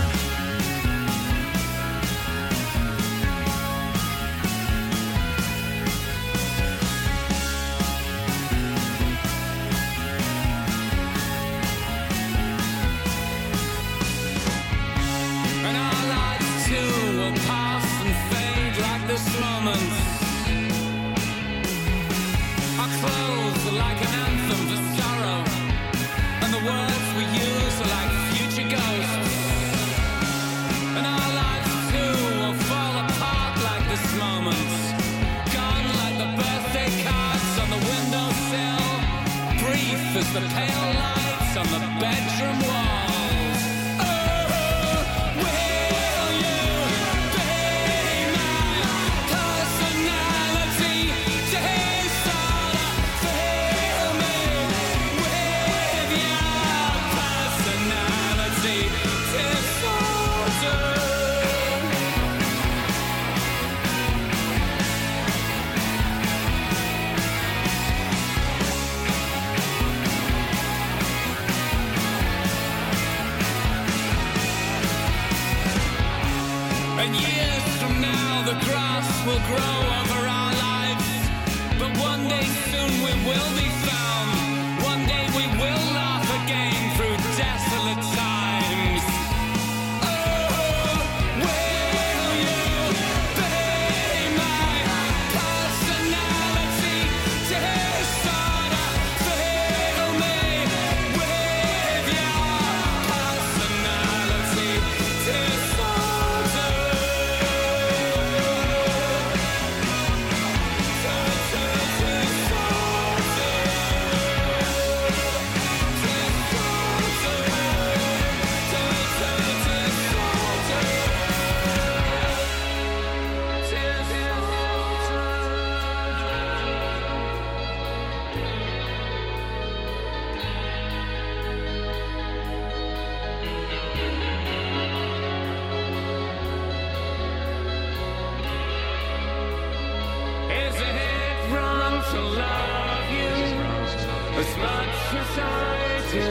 [SPEAKER 10] love you as much as I do.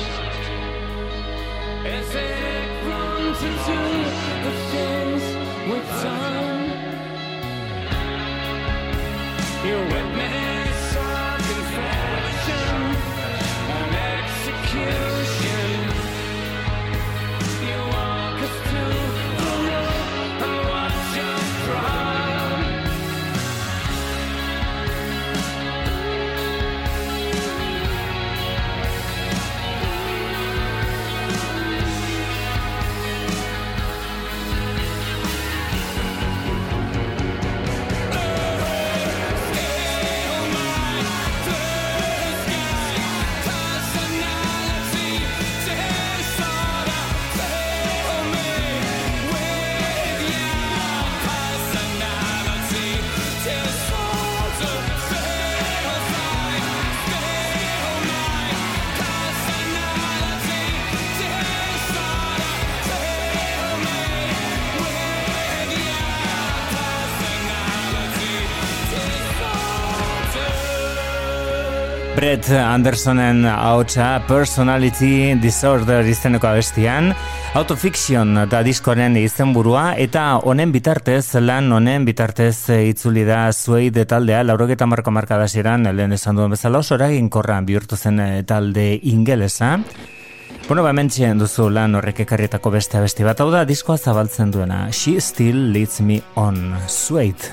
[SPEAKER 10] As it runs into the things we've done, you witness our confession and execution. You walk us to the road and watch us cry.
[SPEAKER 2] Brett Andersonen ahotsa Personality Disorder izeneko abestian, Autofiction da diskoaren izenburua, eta honen bitartez, lan honen bitartez itzuli da Suede taldea, laurogeta marko markadasieran, lehen esan duen bezala oso eraginkorra bihurtu zen talde ingelesa. Bueno, ba, hementxe duzu lan horrek ekarrietako beste abesti bat, hau da diskoa zabaltzen duena, She Still Leads Me On, Suede.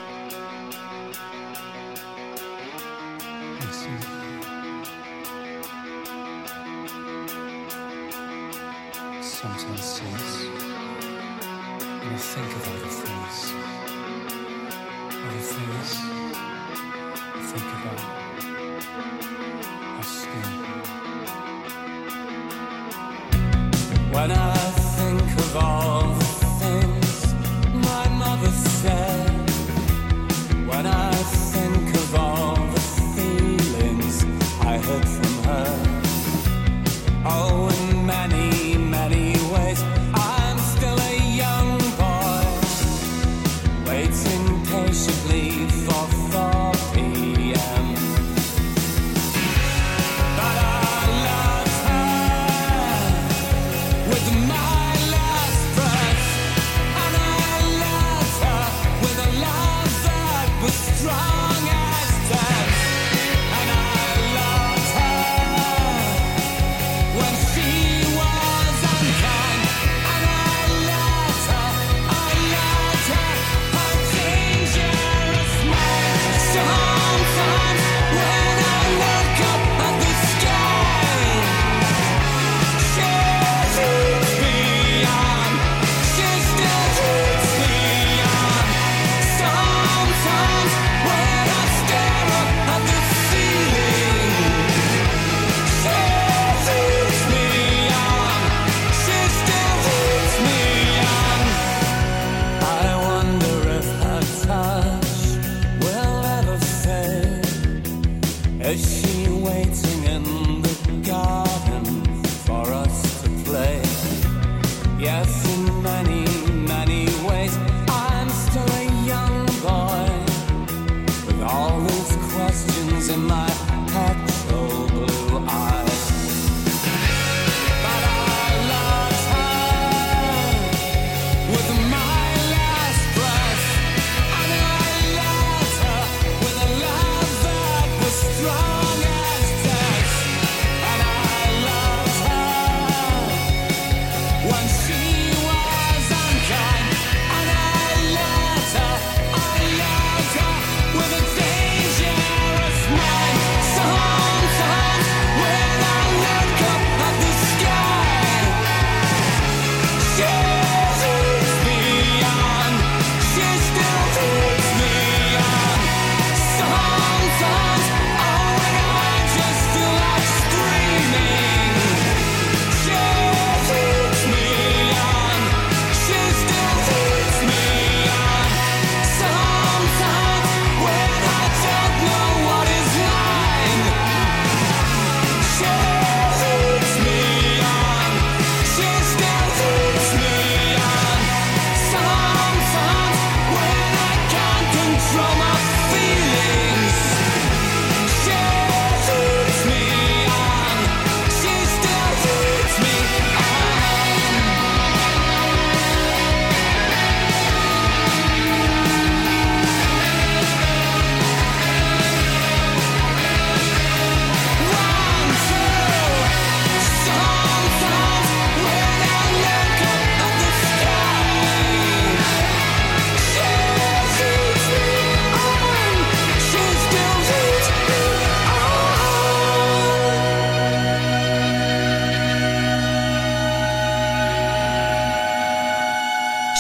[SPEAKER 10] When I think of all the things my mother said, when I think of all the feelings I heard from her, oh, in many, many ways, I'm still a young boy, waiting patiently for four p.m. But I loved her with my last breath, and I loved her with a love that was strong as death, and I loved her when she was unkind, and I loved her, I loved her, her dangerous mind. Sometimes when I look up at the sky, she leads me on, she still leads me on. Sometimes when I stare up at the ceiling, she leads me on, she still leads me on. I wonder if her touch will ever fade. Is she waiting in the garden for us to play? Yes, in many, many ways, I'm still a young boy with all these questions in my petrol blue eyes. But I loved her with my last breath, and I loved her with a love that was strong as death, and I loved her when she was unkind, and I loved her, I loved her with a dangerous mind. Sometimes when I look up at the sky, she leads me on, she still leads me on. Sometimes, oh,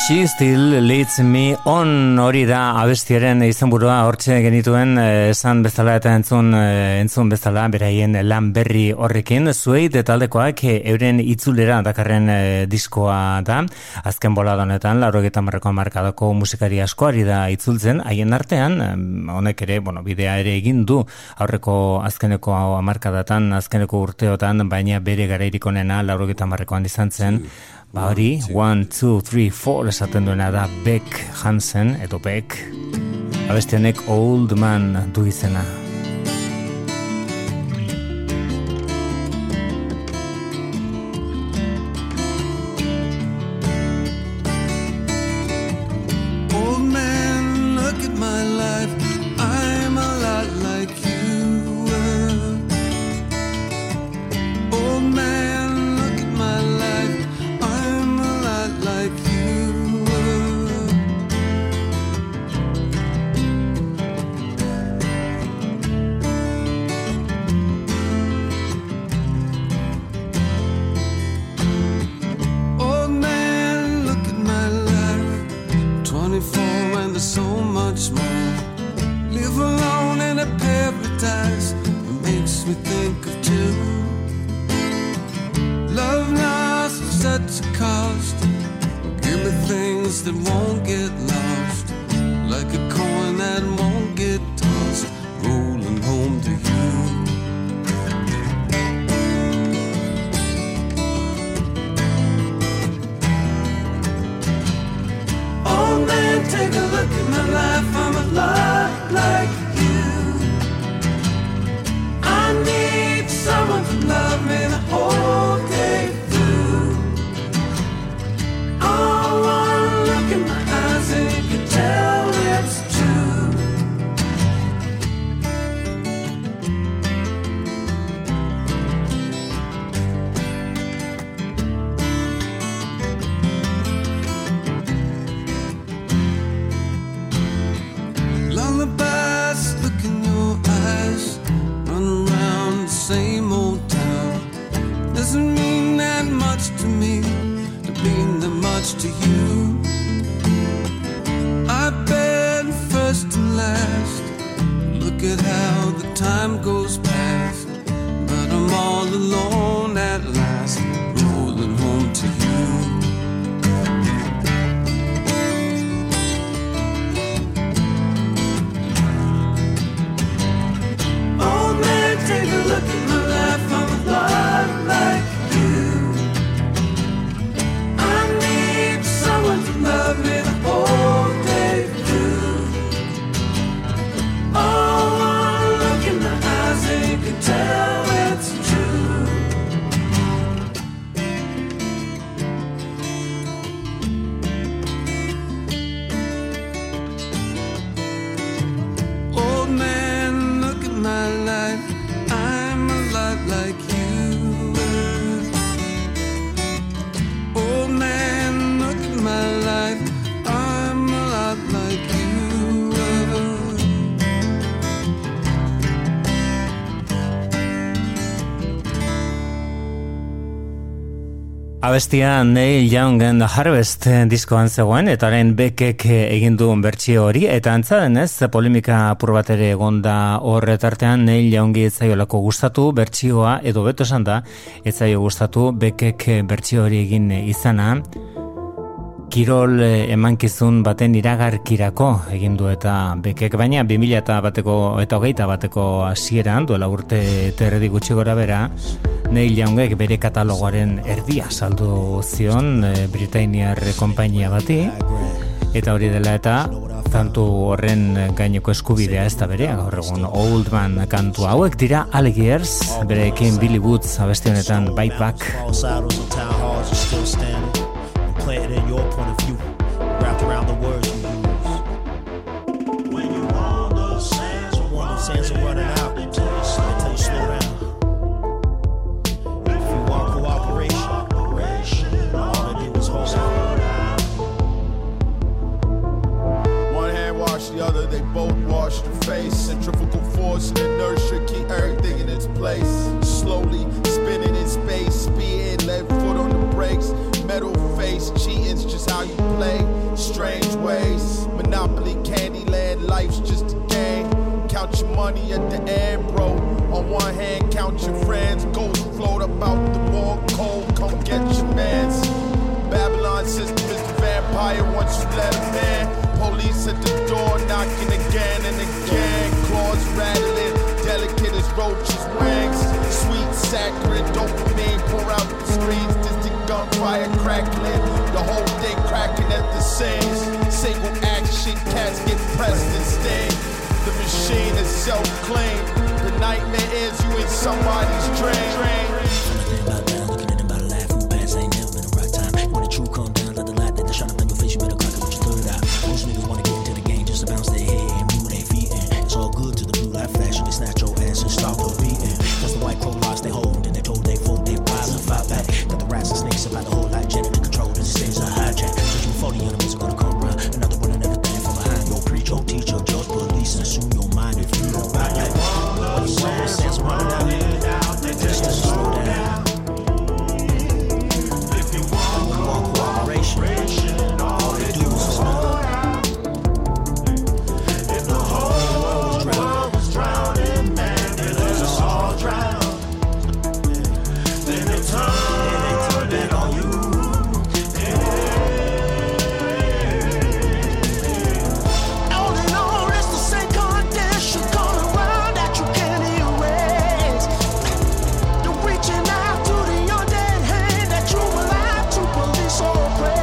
[SPEAKER 2] She Still Leads Me On, hori da abestiaren izenburua, hortxe genituen esan bezala eta entzun, entzun bezala beraien lan berri horrekin. Suede taldekoak euren itzulera dakarren diskoa da, azken bolada honetan laurogeita hamarreko hamarkadako musikari asko ari da itzultzen, haien artean honek ere, bueno, bidea ere egin du aurreko azkeneko hamarkadatan, azkeneko urteotan, baina bere garairik onena laurogeita hamarrekoan izan zen. Ba hori, one, two, three, four esaten duena da Beck Hansen, edo Beck. Abestianek Old Man du izena.
[SPEAKER 9] Old man, look at my life. I'm a lot like you were. Old man, look at my life. Like you were. Old man, look at my life. Twenty-four and there's so much more. Live alone in a paradise. It makes me think of two. Love lost at such a cost. Give me things that won't get lost, like a coin that won't get tossed, rolling home to you. Oh man, take a look at my life. I'm a lot like you. I need someone to love me the whole day through. Oh, one look in my eyes and you can tell it's true. Lullabies, look in your eyes. Run around the same old town. Doesn't mean that much to me, mean that much to you. I've been first and last. Look at how the time goes past. But I'm all alone at last, rolling home to you. Oh man, take a look at my life. I'm a lot like love me the whole day through. Oh, one look in my eyes and you can tell it's true. Old man, look at my life. I'm a lot like you. Old man, look at my life. I'm a lot like you were.
[SPEAKER 2] Abestia Neil Young and the Harvest diskoan zegoen, eta haren Beckek egin duen bertsio hori, eta antza denez, polemika apur bat ere egonda horretartean Neil Youngi ez zaiolako gustatu bertsioa, edo beto esan da, ez zaio gustatu Beckek bertsio hori egin izana. Kirol emankizun baten iragarkirako egin du eta Beckek, baina bi mila bateko eta hogeita bateko hasieran duela urte terdi gutxi gora bera, Neil Youngek bere katalogoaren erdia saldu zion e, Britainiar konpainia bati, eta hori dela eta tantu horren gaineko eskubidea ez da berea gaur egun. Old Man kantu hauek dira Alligators, berekin Billy Woods abesti honetan Bite Back.
[SPEAKER 11] Play it in your point of view, wrapped around the words you use. When you want those sands, when those sands are running out, they tell you slow down. If you want cooperation, all they do is hold on.
[SPEAKER 12] One hand wash the other, they both wash the face. Centrifugal force and inertia keep everything in its place. Slowly spinning in space, speeding, left foot on the brakes. Metal face, cheating's just how you play. strange ways. Monopoly, Candyland, life's just a game. Count your money at the end, bro. On one hand, count your friends. Ghosts float about the wall cold. Come get your mans. Babylon system is the vampire once you let him in. Police at the door knocking again and again. Claws rattling, delicate as roaches' wings. Sweet, saccharine, dopamine pour out the screens. Distant gunfire crackling, the whole thing cracking at the seams. Single action, cats get pressed and sting. The machine is self-claimed. The nightmare is you in somebody's dream.
[SPEAKER 11] True calm down, let the light that shine up on your face, you better clock it with your third eye. Most niggas wanna get into the game just to bounce their head and move their feet in. It's all good to the blue light flash, and they snatch your ass and start the beating. Cause the white crow lost their hold, and they told they folk they rise and fight back. Got the rats and snakes about the whole lot, genetic control, and the stays a hijack. Searching for the enemies are gonna come round, another one and everything from behind. Your preach, your teacher, judge, police, and assume your mind if you don't buy that. What you want, sense of running out, just to slow down. All they do is snuggle. If the whole world was drowning, man, they let us all drown. Then they turn it on you. All in all, it's the same condition going around that you can't erase. You're reaching out to the undead hand that you alive to police or oppress.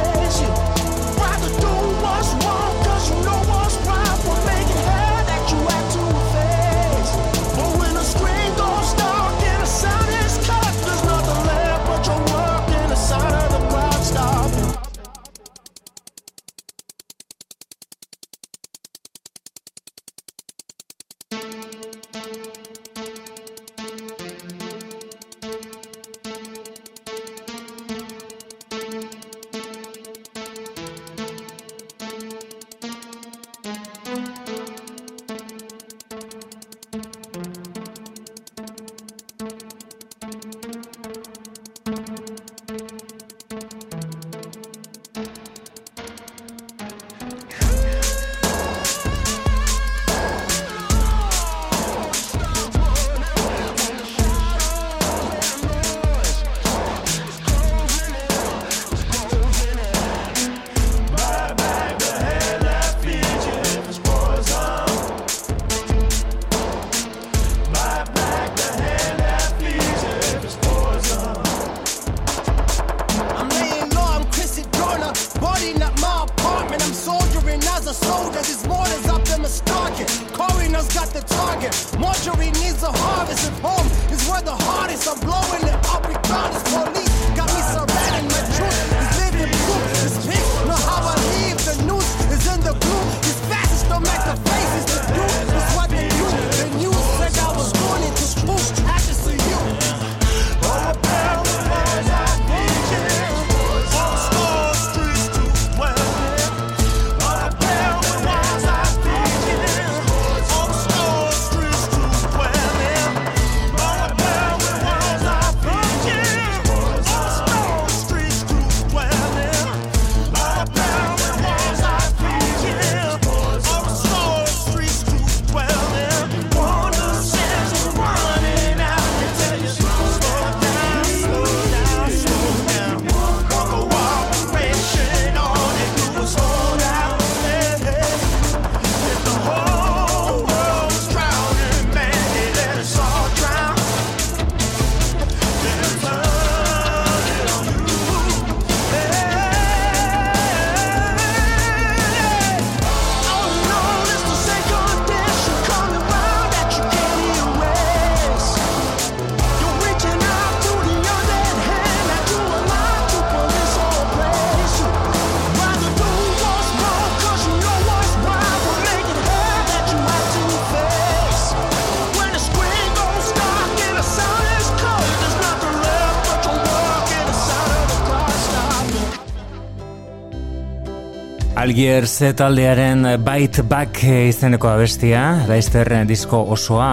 [SPEAKER 2] Algiers taldearen Bite Back izeneko abestia, Leicester disko osoa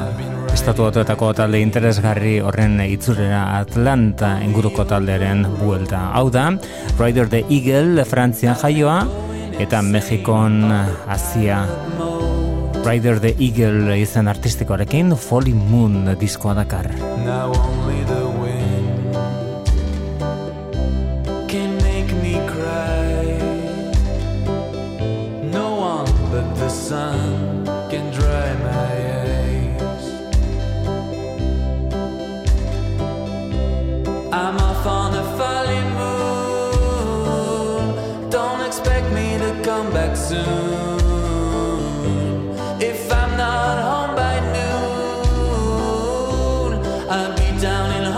[SPEAKER 2] estatu batuetako talde interesgarri horren itzulera Atlanta inguruko taldearen buelta. Hau da, Rider the Eagle, Frantzian jaioa, eta Mexikon Asia Rider the Eagle izen artistikoarekin Folly Moon diskoa dakar.
[SPEAKER 9] Now only the wind can make me cry. No one but the sun can dry my eyes. I'm off on a Folly Moon. Don't expect me to come back soon. If I'm not home by noon, I'll be down in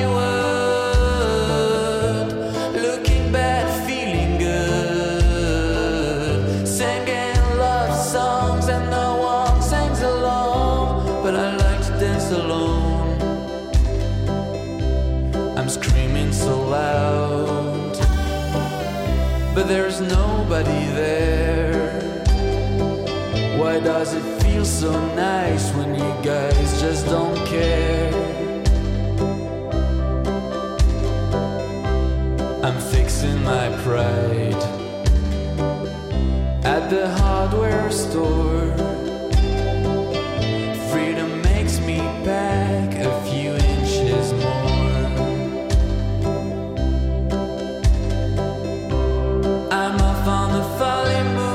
[SPEAKER 9] Hollywood, looking bad, feeling good, singing love songs and no one sings along, but I like to dance alone. I'm screaming so loud, but there's nobody there. Why does it feel so nice when you guys just don't care? I'm fixing my pride at the hardware store. Freedom makes me back a few inches more. I'm off on the Folly Moon.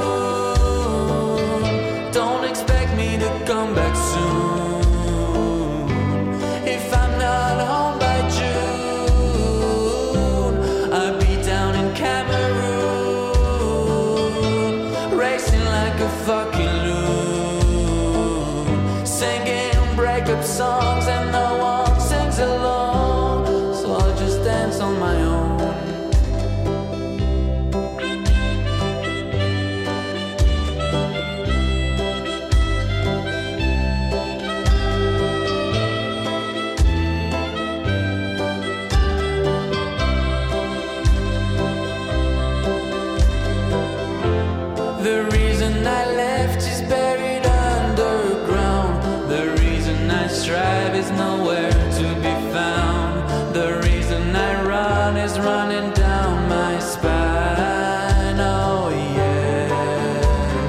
[SPEAKER 9] Come back soon. If I'm not home by June, I'll be down in Cameroon, racing like a fucking loon, singing breakup songs and no one sings along, so I'll just dance on my own. Strive is nowhere to be found. The reason I run is running down my spine. Oh yeah.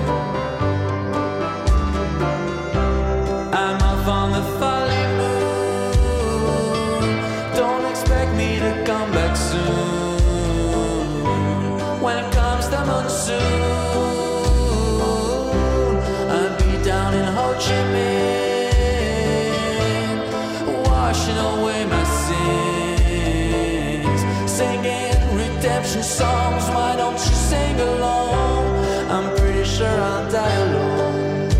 [SPEAKER 9] I'm off on the Folly Moon. Don't expect me to come back soon. When it comes the monsoon, I'll be down in Ho Chi Minh, washing away my sins, singing redemption songs. Why don't you sing along? I'm pretty sure I'll die alone.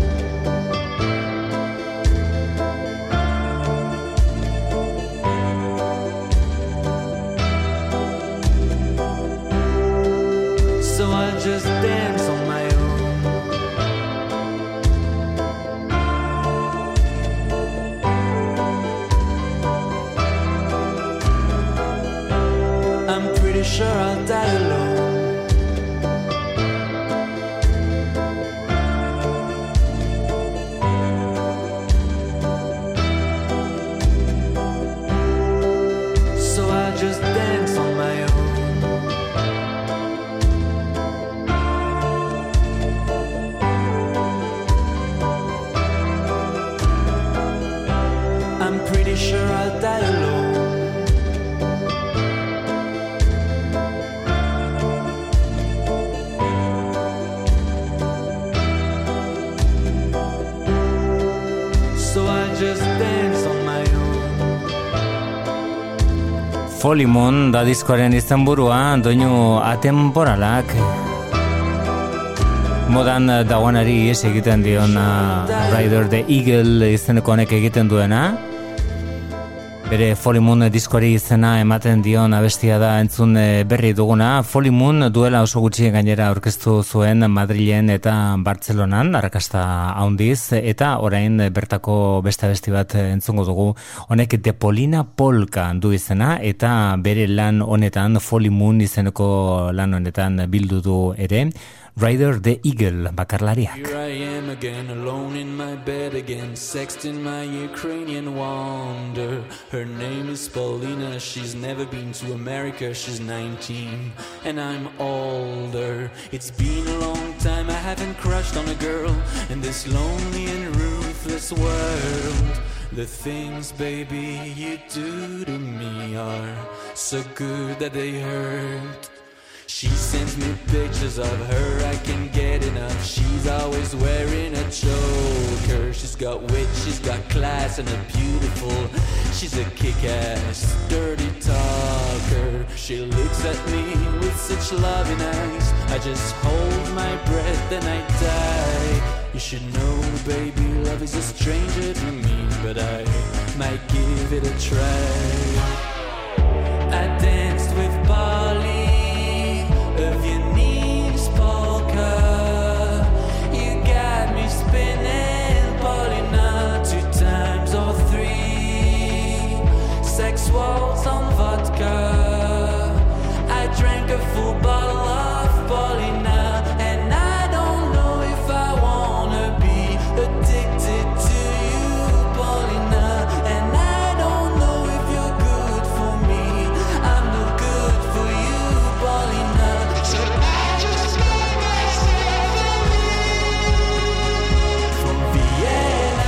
[SPEAKER 9] So I'll just dance on my own. Sure I'll die alone. So I'll just dance on my own. I'm pretty sure I'll die alone.
[SPEAKER 2] Folly Moon da diskoaren izenburua, doinu atemporalak modan dagoenari ihes egiten dion Rider the Eagle izeneko honek egiten duena. Bere Folly Moon diskoari izena ematen dion abestia da entzun berri duguna. Folly Moon duela oso gutxi gainera aurkeztu zuen Madrilen eta Bartzelonan, arrakasta handiz, eta orain bertako beste abesti bat entzungo dugu. Honek De Polina Polka du izena, eta bere lan honetan, Folly Moon izeneko lan honetan bildu du ere Rider the Eagle bakarlariak.
[SPEAKER 9] Here I am again, alone in my bed again, sexting my Ukrainian wonder. Her name is Paulina, she's never been to America, she's nineteen, and I'm older. It's been a long time, I haven't crushed on a girl in this lonely and ruthless world. The things, baby, you do to me are so good that they hurt. She sends me pictures of her, I can't get enough. She's always wearing a choker. She's got wit, she's got class, and a beautiful. She's a kick-ass, dirty talker. She looks at me with such loving eyes. I just hold my breath and I die. You should know, baby, love is a stranger to me, but I might give it a try. I danced with Polly of Viennese polka. You got me spinning, Paulina, two times or three. Sex waltz on vodka. I drank a full bottle of Paulina, and I don't know if I wanna be addicted to you, Paulina, and I don't know if you're good for me. I'm no good for you, Paulina. So I just want myself from Vienna.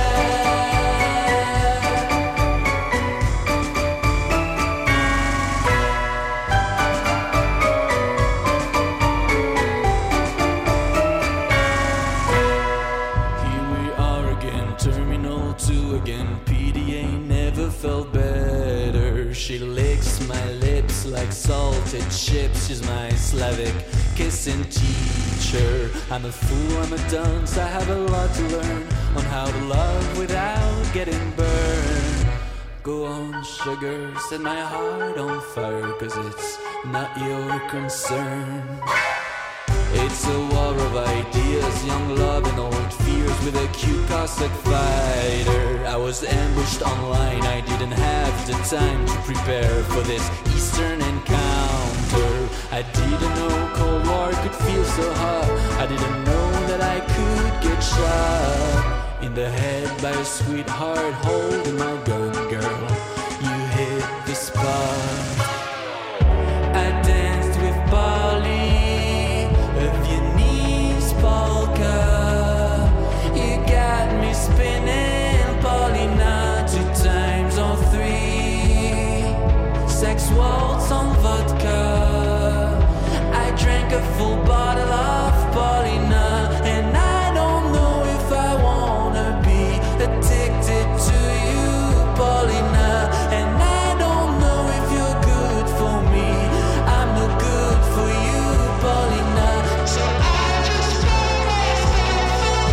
[SPEAKER 9] Here we are again, Terminal two again. P D A never felt better. She licks my lips like salted chips. She's my Slavic kissing teacher. I'm a fool, I'm a dunce, I have a lot to learn on how to love without getting burned. Go on, sugar, set my heart on fire, 'cause it's not your concern. It's a war of ideas, young love and old fears, with a cute Cossack fighter. I was ambushed online, I didn't have the time to prepare for this Eastern encounter. I didn't know Cold War could feel so hot. I didn't know that I could get shot in the head by a sweetheart holding my gun, girl. You hit the spot. I danced with Polly of Viennese polka. You got me spinning, Paulina, two times or three. Sex waltz on vodka. I drank a full bottle of Paulina, and I don't know if I wanna be addicted to you, Paulina, and I don't know if you're good for me. I'm no good for you, Paulina. So I just want myself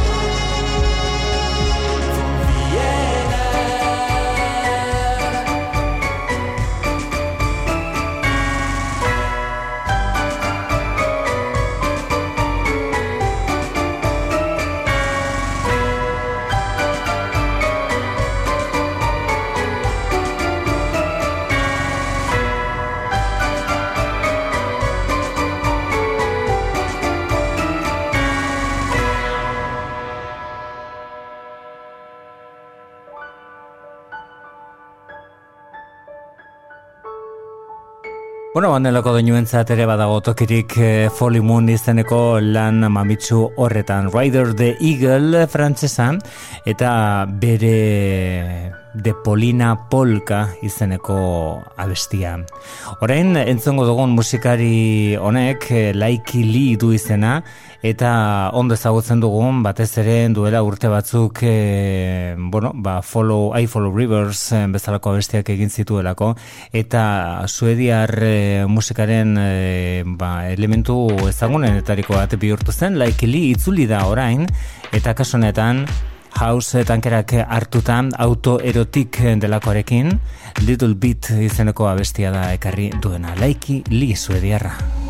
[SPEAKER 9] from Vienna.
[SPEAKER 2] Bueno, bandelako doinuentzat ere badago tokirik eh, Folly Moon izeneko lan mamitsu horretan. Rider the Eagle frantsesan, eta bere De Polina Polka izeneko abestia. Orain entzongo dugun musikari honek eh, Laiki Lee du izena, eta ondo ezagutzen dugun batez ere duela urte batzuk eh, bueno, ba, follow, I Follow Rivers eh, bezalako abestiak egin zituelako, eta suediar eh, musikaren eh, ba, elementu ezagunenetariko bat bihurtu zen. Laiki Lee itzuli da orain, eta kasu honetan house tankerak hartutan autoerotik delakoarekin Little Bit izeneko abestia da ekarri duena. Laiki Lee suediarra.